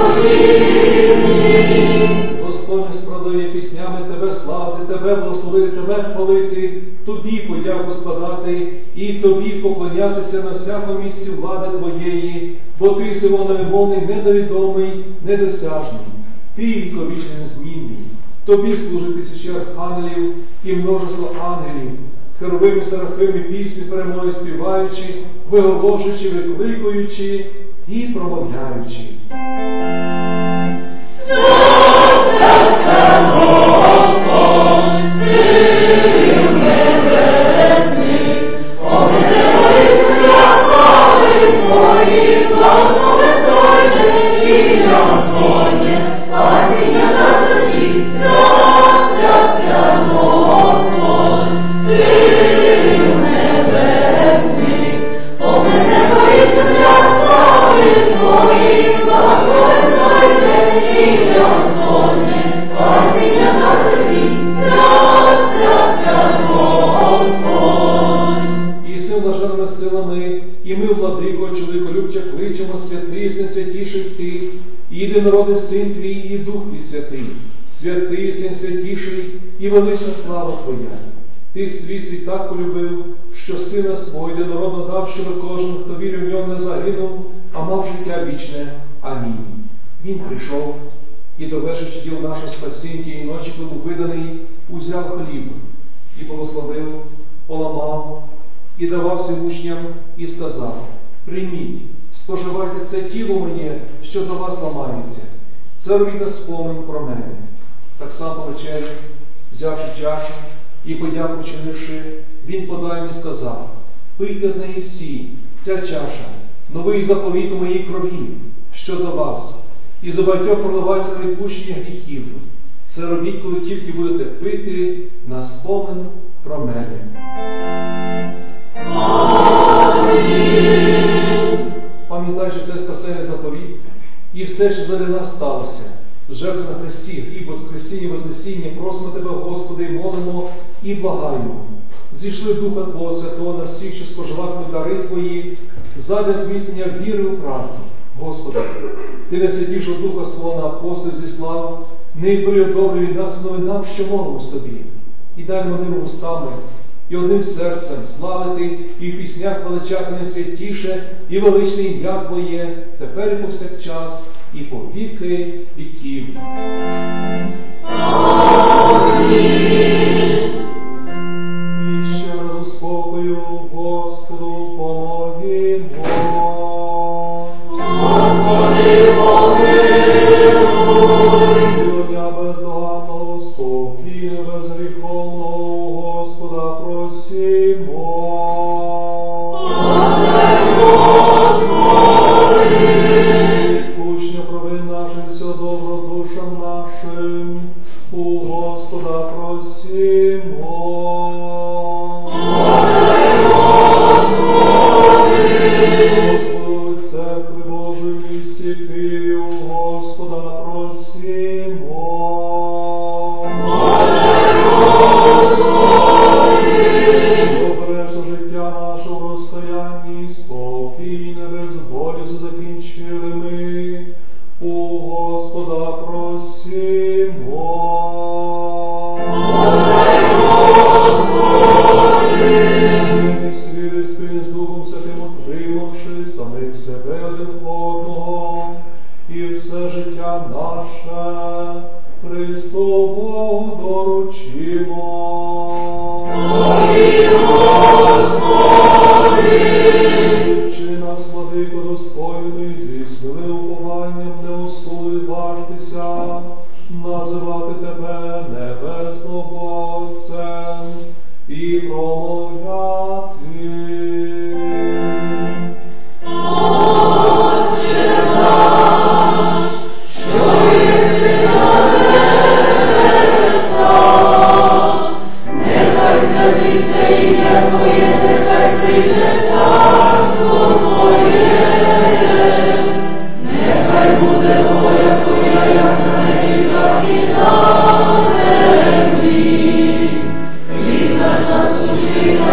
непогибні. Достойно справдує піснями Тебе славити, Тебе благословити, Тебе хвалити, Тобі подяку складати і Тобі поклонятися на всякому місці влади Твоєї, бо Ти всього невимовний, недовідомий, недосяжний. Ти віковічний незмінний. Тобі служить тисячі архангелів і множество ангелів, херовими, серафими, пісні перемоги співаючи, виголошуючи, викликуючи і промовляючи. Єдинородний Син Твій і Дух Твій Святий, святий Син святіший і велична слава Твоя. Ти свій світ так полюбив, що Сина свого єдинородного дав, щоб кожен, хто вірив в нього, не загинув, а мав життя вічне. Амінь. Він прийшов і, довершивши діло нашого спасіння тієї ночі, коли був виданий, узяв хліб і благословив, поламав і давав всім учням і сказав: прийміть, споживайте це тіло моє, що за вас ламається. Це робіть на спомин про мене. Так само по вечері, взявши чашу і подяку чинивши, він подав їм і сказав: пийте з неї всі, ця чаша, новий заповіт у моїй крові, що за вас, і за багатьох проливається на відпущення гріхів. Це робіть, коли тільки будете пити на спомин про мене. Пам'ятаючи це спасенний заповіт і все, що заради нас сталося, жертву на хресті, гріб, воскресіння, вознесіння, просимо Тебе, Господи, і молимо, і благаємо. Зійшли Духа Твого Святого на всіх, що споживатимуть дари Твої, задля зміцнення віри у правді. Господи, Ти найсвятішого Духа свого на апостолів зіслав, не переодобрюй нас новинам, що молимось Тобі, і дай нам одними устами і одним серцем славити і в піснях величати найсвятіше і величне ім'я Твоє, тепер і повсякчас, і по віки віків. Амінь. І ще раз у спокою Господу помолімо. Господи, помилуй. Цілення бездоганного, спокійне, безгріховного Господа просимо. Відпущення провин нашим, все добро душам нашим, у Господа просимо. Господь, церкви Божої всіх, у Господа просимо. Обережно життя нашого в розстоянні, спокійне, без болізу закінчили ми, у Господа просимо. Вірні світи спільні з Духом Святим отримавши самих себе один одного, і все життя наше Христу Богу доручимо. Чи нас, владико, достойний, зі сміливим упованням не осудив важитися, називати Тебе небесним Отцем і промовляти. Отче наш, що єси на небесах, нехай святиться ім'я Твоє, нехай прийде царство Твоє, нехай буде воля Твоя, як на небі, так і на землі. Хліб наш насущний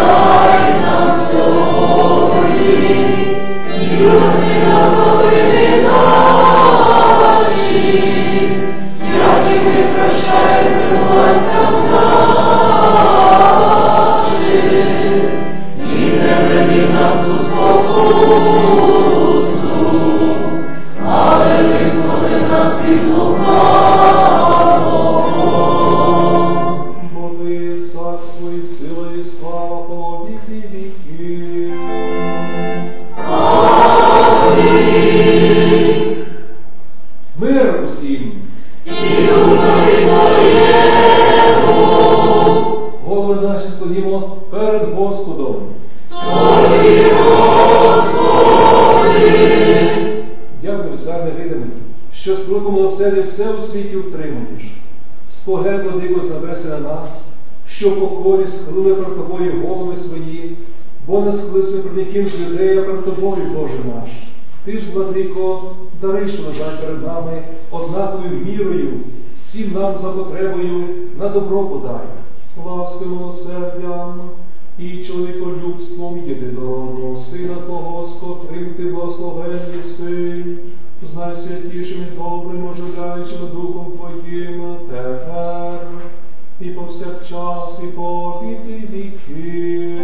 стоїмо перед Господом. Тобі, Господи! Дякую, Цар невидимий, що строком милосердя все у світі утримуєш. Споглянь, владико, з небеси на нас, що в покорі схилили перед Тобою голови свої, бо не схилився перед яким з людей, а перед Тобою, Боже наш. Ти ж, владико, дари, що лежать перед нами однаковою мірою, всім нам за потребою на добро подай. Ласки милосердям і чоловіколюбством єдинородного Сина Твого, з котрим Ти благословен єси, з найсвятішим і добрим, оживляючим Духом Твоїм, тепер і повсякчас, і по віки віки.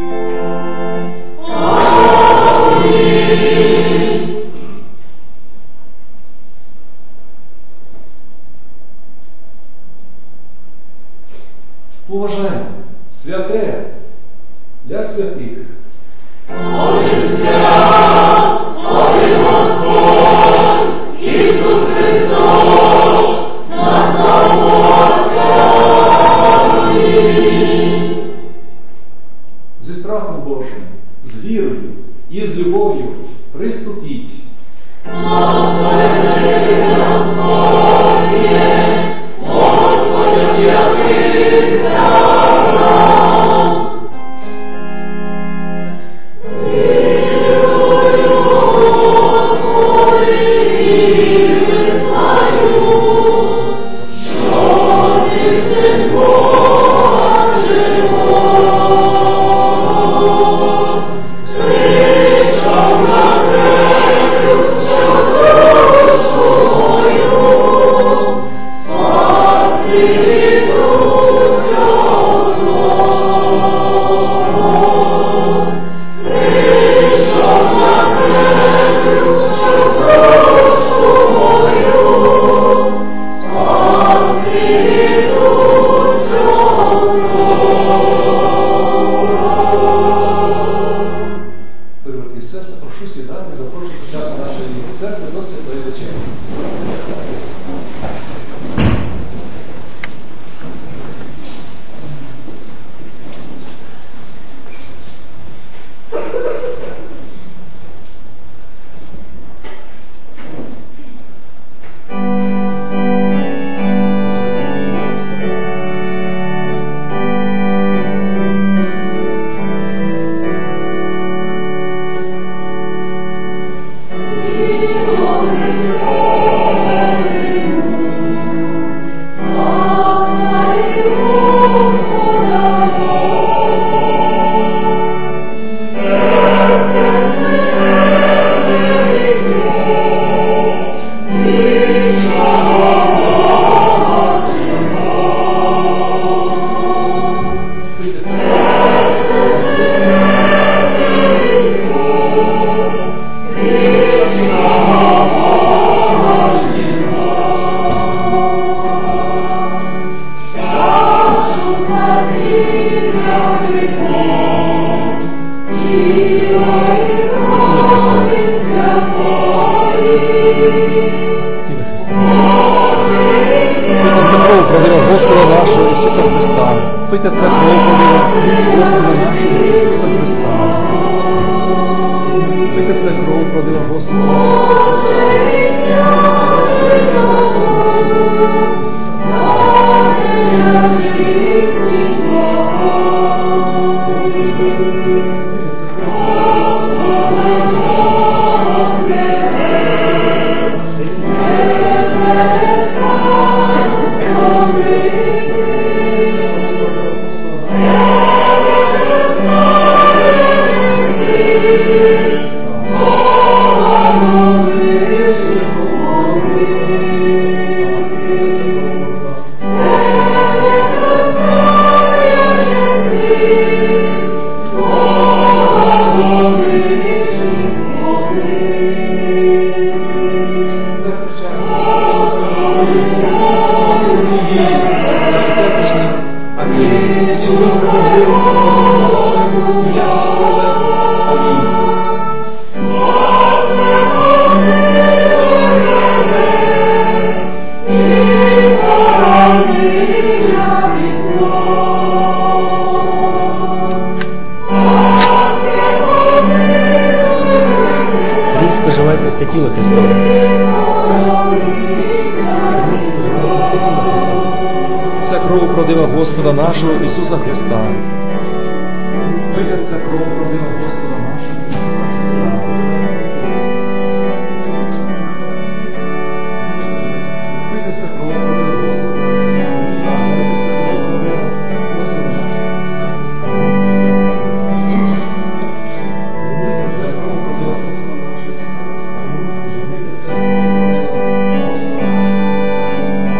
Амінь. Уважаємо, святе для святих. Молися, моли Господь, Ісус Христос, нас Амінь. Зі страхом Божим, з вірою і з любов'ю приступіть. Господи, Господи, Господи, явися нам. Вірую, Господи, вірю свою, що Ти син Бога живого, прийшов на землю, що душу мою спасти від усього злого. Прийшов на землю, що душу мою спасти від усього злого. Дорогі брати і сестри, прошу сідати, запрошую під час нашої церкви до святої вечері. Пийте це кров пролива Господа нашого Ісуса Христа. Пийте це кров пролива Господа нашого Ісуса Христа. Пийте це кров пролива Господа нашого кров правдива Господа нашого Ісуса Христа. Вийдеться кров правдива Господа нашого Ісуса Христа. Вийдеться кров правдива Господа нашого Ісуса Христа. Вийдеться кров правдива Господа нашого Ісуса Христа. Вийдеться кров правдива Господа нашого Ісуса Христа.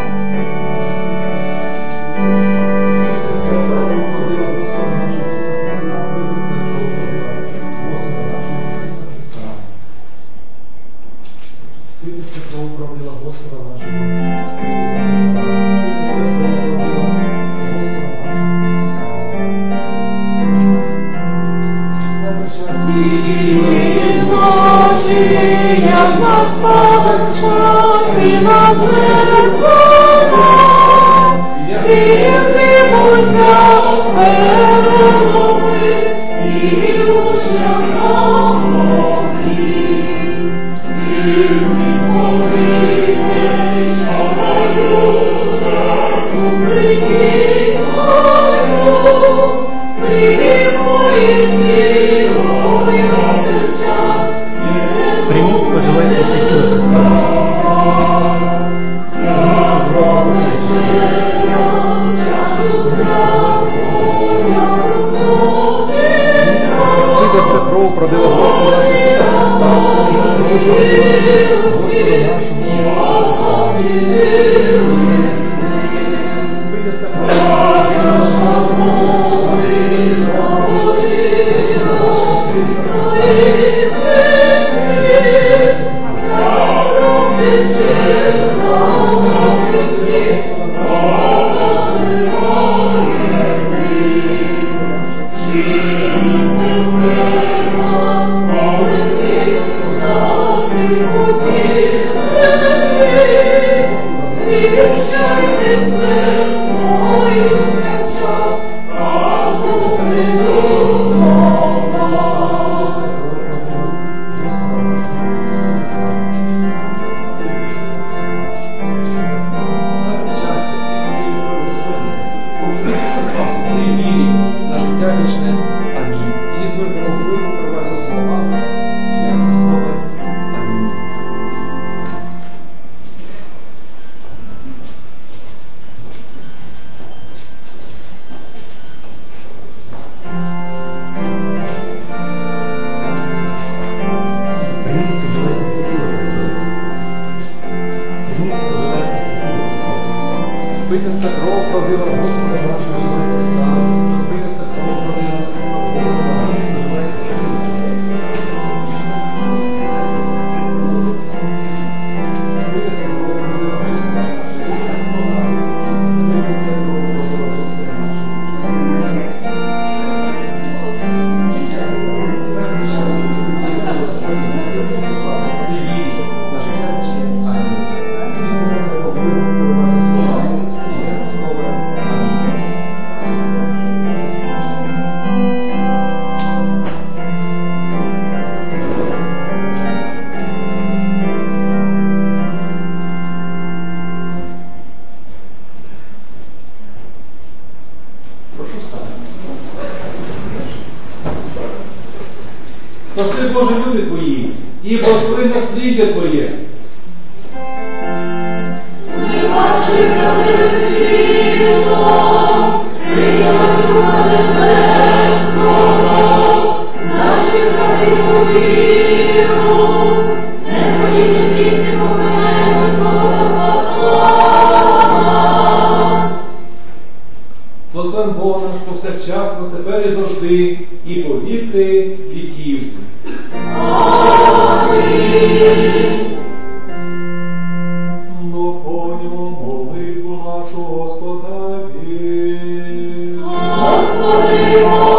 Вийдеться кров правдива Господа нашого Ісуса Христа. Вийдеться кров правдива Господа нашого Ісуса Христа. Добре час. Як нас повчати нас легко, і внимуся переломи, і учням помогли. Візьміть Божите, що даються, прийміть мою, приймують цілою час. Приміть, споживайте це тіло Христа. Вийдеться кров правдива Господа нашого Ісуса Христа. Вийдеться кров правдива Господа нашого Ісуса Христа. Вийдеться кров Вийдеться кров правдива Господа нашого Ісуса Христа. Вийдеться кров правдива Господа нашого Ісуса Христа. Вийдеться кров правдива Господа нашого Ісуса Христа. Вийдеться кров правдива Господа нашого Ісуса Христа. Певний час святий Господь, любить вас, і вірі на життя вічне. Амінь. І слова Бога перебувати словами. Прошу встати. Спаси, Боже, люди Твої, і благослови насліддя Твоє. Ми бачимо світло, прийняли Духа Небесного, наші правильну віру, не боліти віці помилуй, Господа спасла. Благословен Бог наш повсякчасно, тепер і завжди, і по віки віків. Амінь. Наповнюємо молитву нашу Господеві. Господи,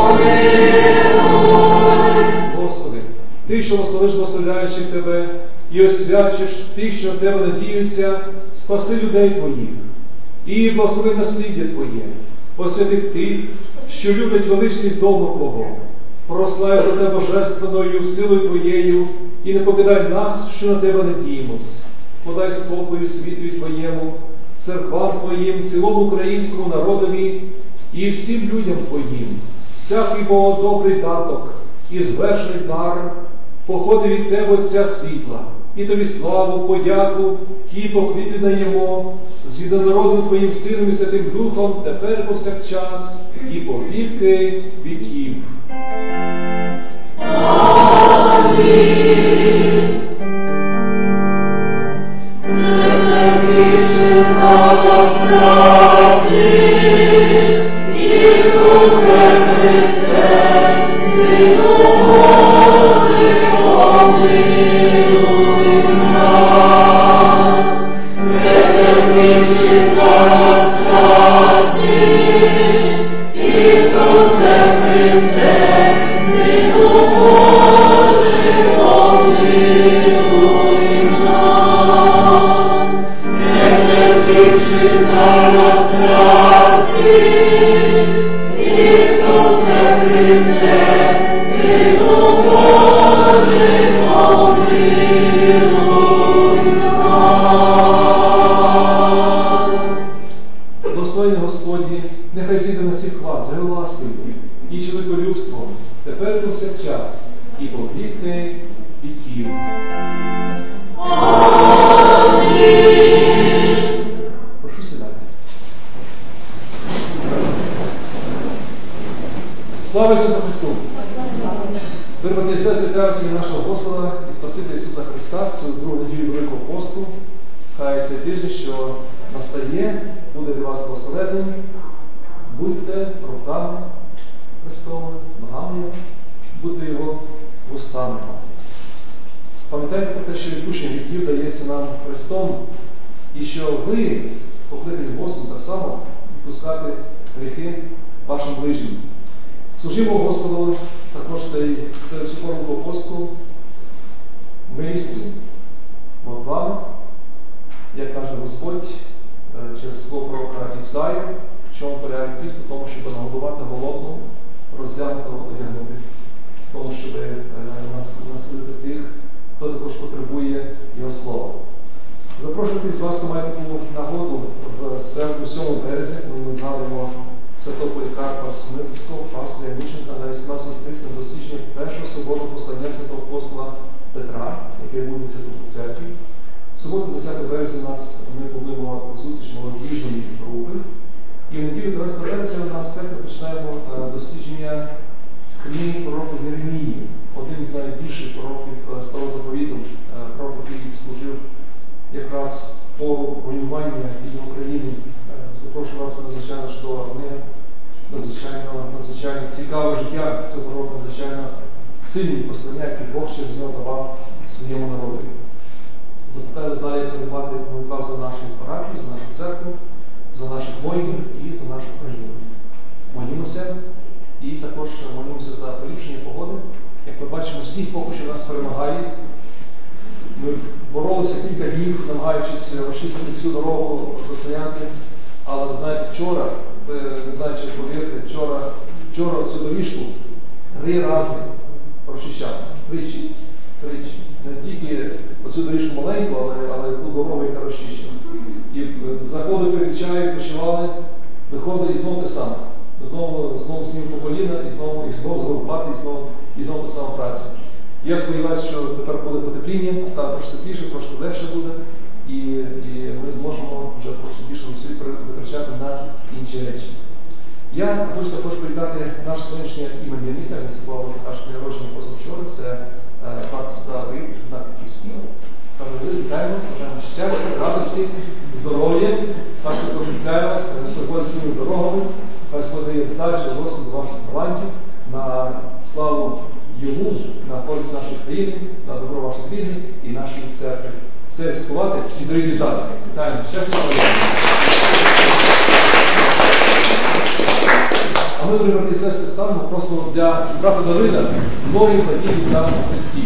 помилуй. Господи, Ти, що благословиш благословляючих Тебе і освячиш тих, що в Тебе надіються, спаси людей Твоїх і благослови насліддя Твоє, освяти тих, що люблять величність дому Твого, прославив за Тебе божественною силою Твоєю і не покидай нас, що на Тебе надіємось. Подай спокою світові Твоєму, церквам Твоїм, цілому українському народові і всім людям Твоїм. Всякий Богодобрий даток і звершений дар походить від Тебе, Отця світла, і Тобі славу, подяку і похвіти даємо з єдинородним Твоїм Сином і Святим Духом, тепер повсякчас і по віки віків. Амінь. Претерпівши за нас праці, Ісусе Христе, Сину Божий, помилуй нас. Претерпівши за нас праці, Ісусе Христе, Сину Божий, помилуй нас. Претерпівши за нас праці, Ісусе Христе, Сину Божий, помилуй нас. Благословення Господні, нехай зійде на всіх вас, з ласкою і чоловіколюбством, тепер повсякчас і по віки віків. Амінь. Прошу сідати. Слава Ісусу Христу! Дорогі брати і сестри, вітаю всіх нашого Господа і Спасителя Ісуса Христа в цю другу неділю Великого посту. Хай цей тиждень, що настає, буде для вас благословенним. Будьте руками Христовими, ногами Його, будьте Його вустами. Пам'ятайте про те, що відпущення гріхів дається нам Христом, і що ви, покликані Господом, так само відпускати гріхи вашим ближнім. Служимо Господу також цей, серед цю форму посту милістю, молитвами, як каже Господь через слово пророка Ісаї, в чому полягає піст, в тому, щоб нагодувати голодну, роздягнутого одягнути, в тому, щоб насилити тих, хто також потребує Його слова. Запрошую тих з вас, хто має таку нагоду в середу сьомого березня, коли ми згадуємо святого Полікарпа Смирського, пастиря мученика на вісімнадцяту тридцять дослідження першого суботу послання святого апостола Петра, яке відбудеться тут у церкві. В суботу, десятого березня, у нас ми плануємо зустріч молодіжної групи. І в неділю дванадцятого березня у нас в церкві починаємо дослідження книги пророка Єремії, один з найбільших пророків Старого Заповіту, пророк, який служив якраз пору руйнування від України. Запрошую вас надзвичайно чудова книга, надзвичайно, надзвичайно цікаве життя цього пророка, надзвичайно сильні послання, які Бог через нього давав своєму народу. Запитаю в залі передбати молитва за нашу парафію, за нашу церкву, за наших воїнів і за нашу країну. Молімося і також молімося за поліпшення погоди. Як ми бачимо, сніг поки що нас перемагає. Ми боролися кілька днів, намагаючись розчистити всю дорогу до стоянки. Але ви знаєте, вчора, ви не знаєте, чи повірте, вчора, вчора цю доріжку три рази прочищав. Тричі. Тричі. Не тільки оцю доріжку маленьку, але, але ту дорогу, яка розчищена. І заходи перед чаю, почували, виходили і знову те саме. Знову, знову сніг по коліна, і знову, і знову залопати, і знову, і знову та сама праця. Я сподіваюся, що тепер буде потепління, стане трошки тепліше, трошки легше буде, і, і ми зможемо вже трошки більше зусиль витрачати на інші речі. Я хочу також привітати наш сьогоднішній іменинника, він святкував аж народження позавчора, це брат Давид, брат Київський. Кажу, ви вітаємо вас, бажаємо щастя, радості, здоров'я, хай Господь вітає вас, хай Господь ходить своїми дорогами, хай Господь дає далі росту до ваших талантів, на славу Йому, на користь нашої країни, на добро ваших рідних і нашої церкви. Це святкувати і зреалізувати. Вітаємо. Щастя. А ми, дорогі брати і сестри, ставимо просто для брата Давида нові події в даному Христі.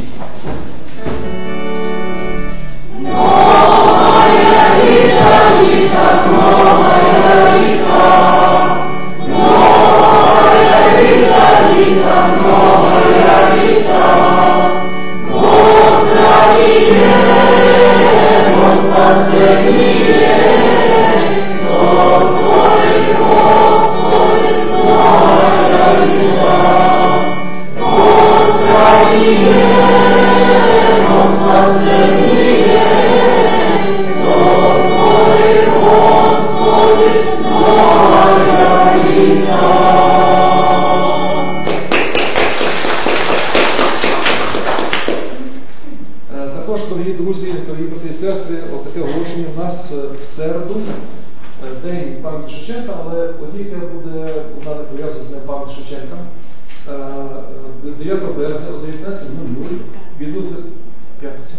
Новая літа, літа, новая літа, новая літа, літа, новая літа, Бог здравіє, Бог спасеніє, пам'яті Шевченка, але подія буде, вона не пов'язана з Днем пам'яті Шевченка. дев'ятого березня о дев'ятнадцятій нуль нуль відбудеться п'ятниця.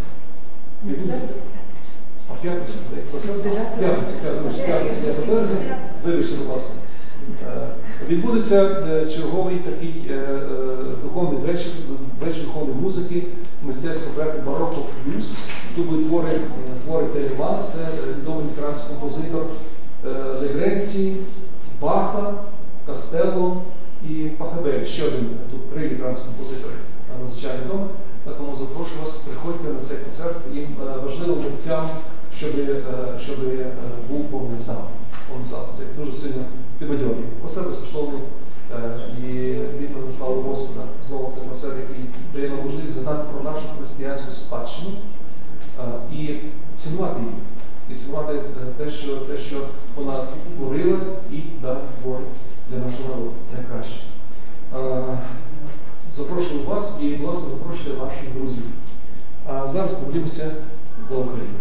А п'ятниця? П'ятниця, п'ятниця, дев'ятого березня. Вибачте, будь ласка. Відбудеться черговий такий духовний вечір, вечір духовної музики, мистецького проєкту Бароко Плюс. Тут будуть твори, твори Телемана, це відомий ветеранський композитор Легренці, Баха, Кастелло і Пахабель. Ще один, тут три ветеранські композитори надзвичайно відомі. Тому запрошую вас, приходьте на цей концерт. Їм важливо митцям, щоб, щоб був повний зал. Повний зал. Це дуже сильно підбадьорює. Концерт безкоштовний і відповідь на славу Господа. Знову це концерт, який дає нам можливість згадати про нашу християнську спадщину і цінувати її. І цінувати те, що, те, що вона творила і далі творить для нашого народу найкраще. Запрошую вас і, будь ласка, запрошуйте ваших друзів. А зараз помолімося за Україну.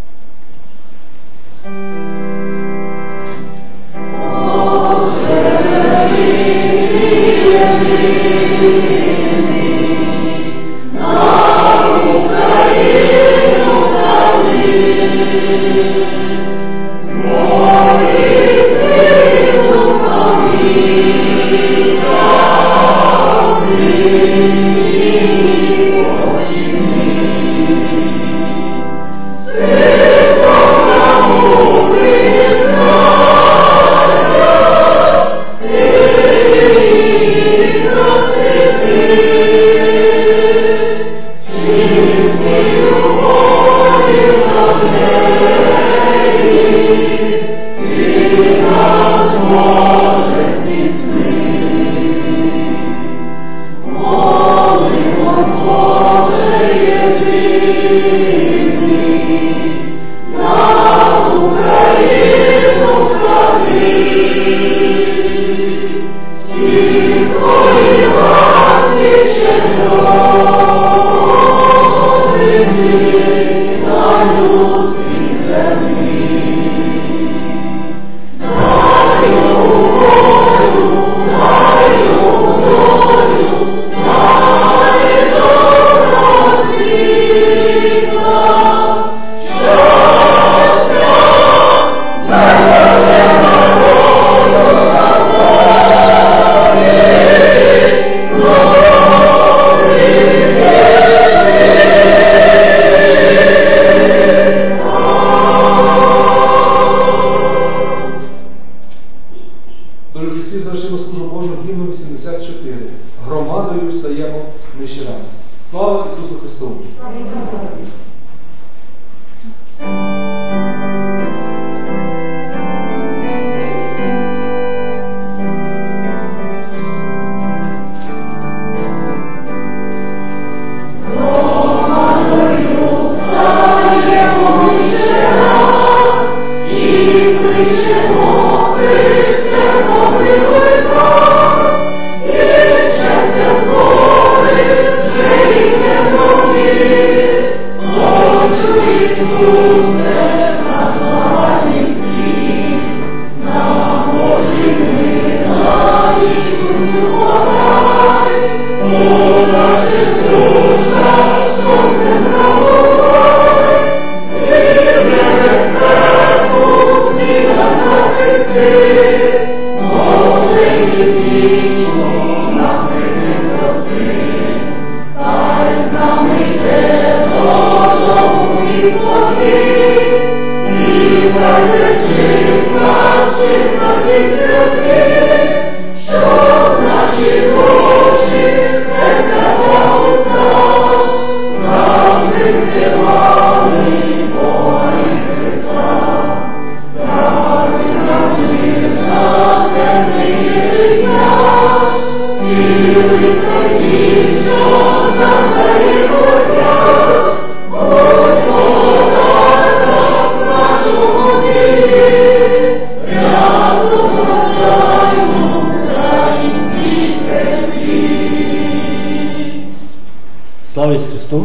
Слава Ісусу Христу!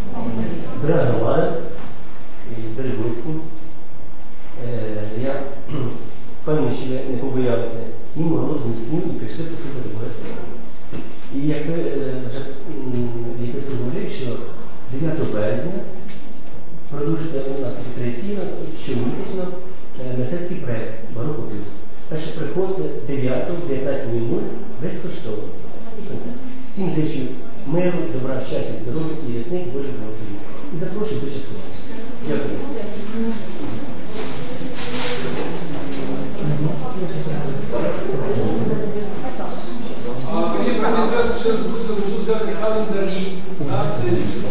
Дорога громада і дорогі гості, я впевнений, що ви морозний сніг і прийшли послухати Боже Слово. І як ви вже єпископ говорив, що дев'ятого березня продовжиться у нас традиційно щомісячно мистецький проєкт «Бароко Плюс». Так що приходьте дев'ятого, дев'ятнадцять нуль нуль безкоштовно. Всім зичу миру, добра, щастя, здоров'я і ясних Божих благословень. І запрошую до часткового. Дякую. А тоді принесе ще дуже взяти календарі на цей рік.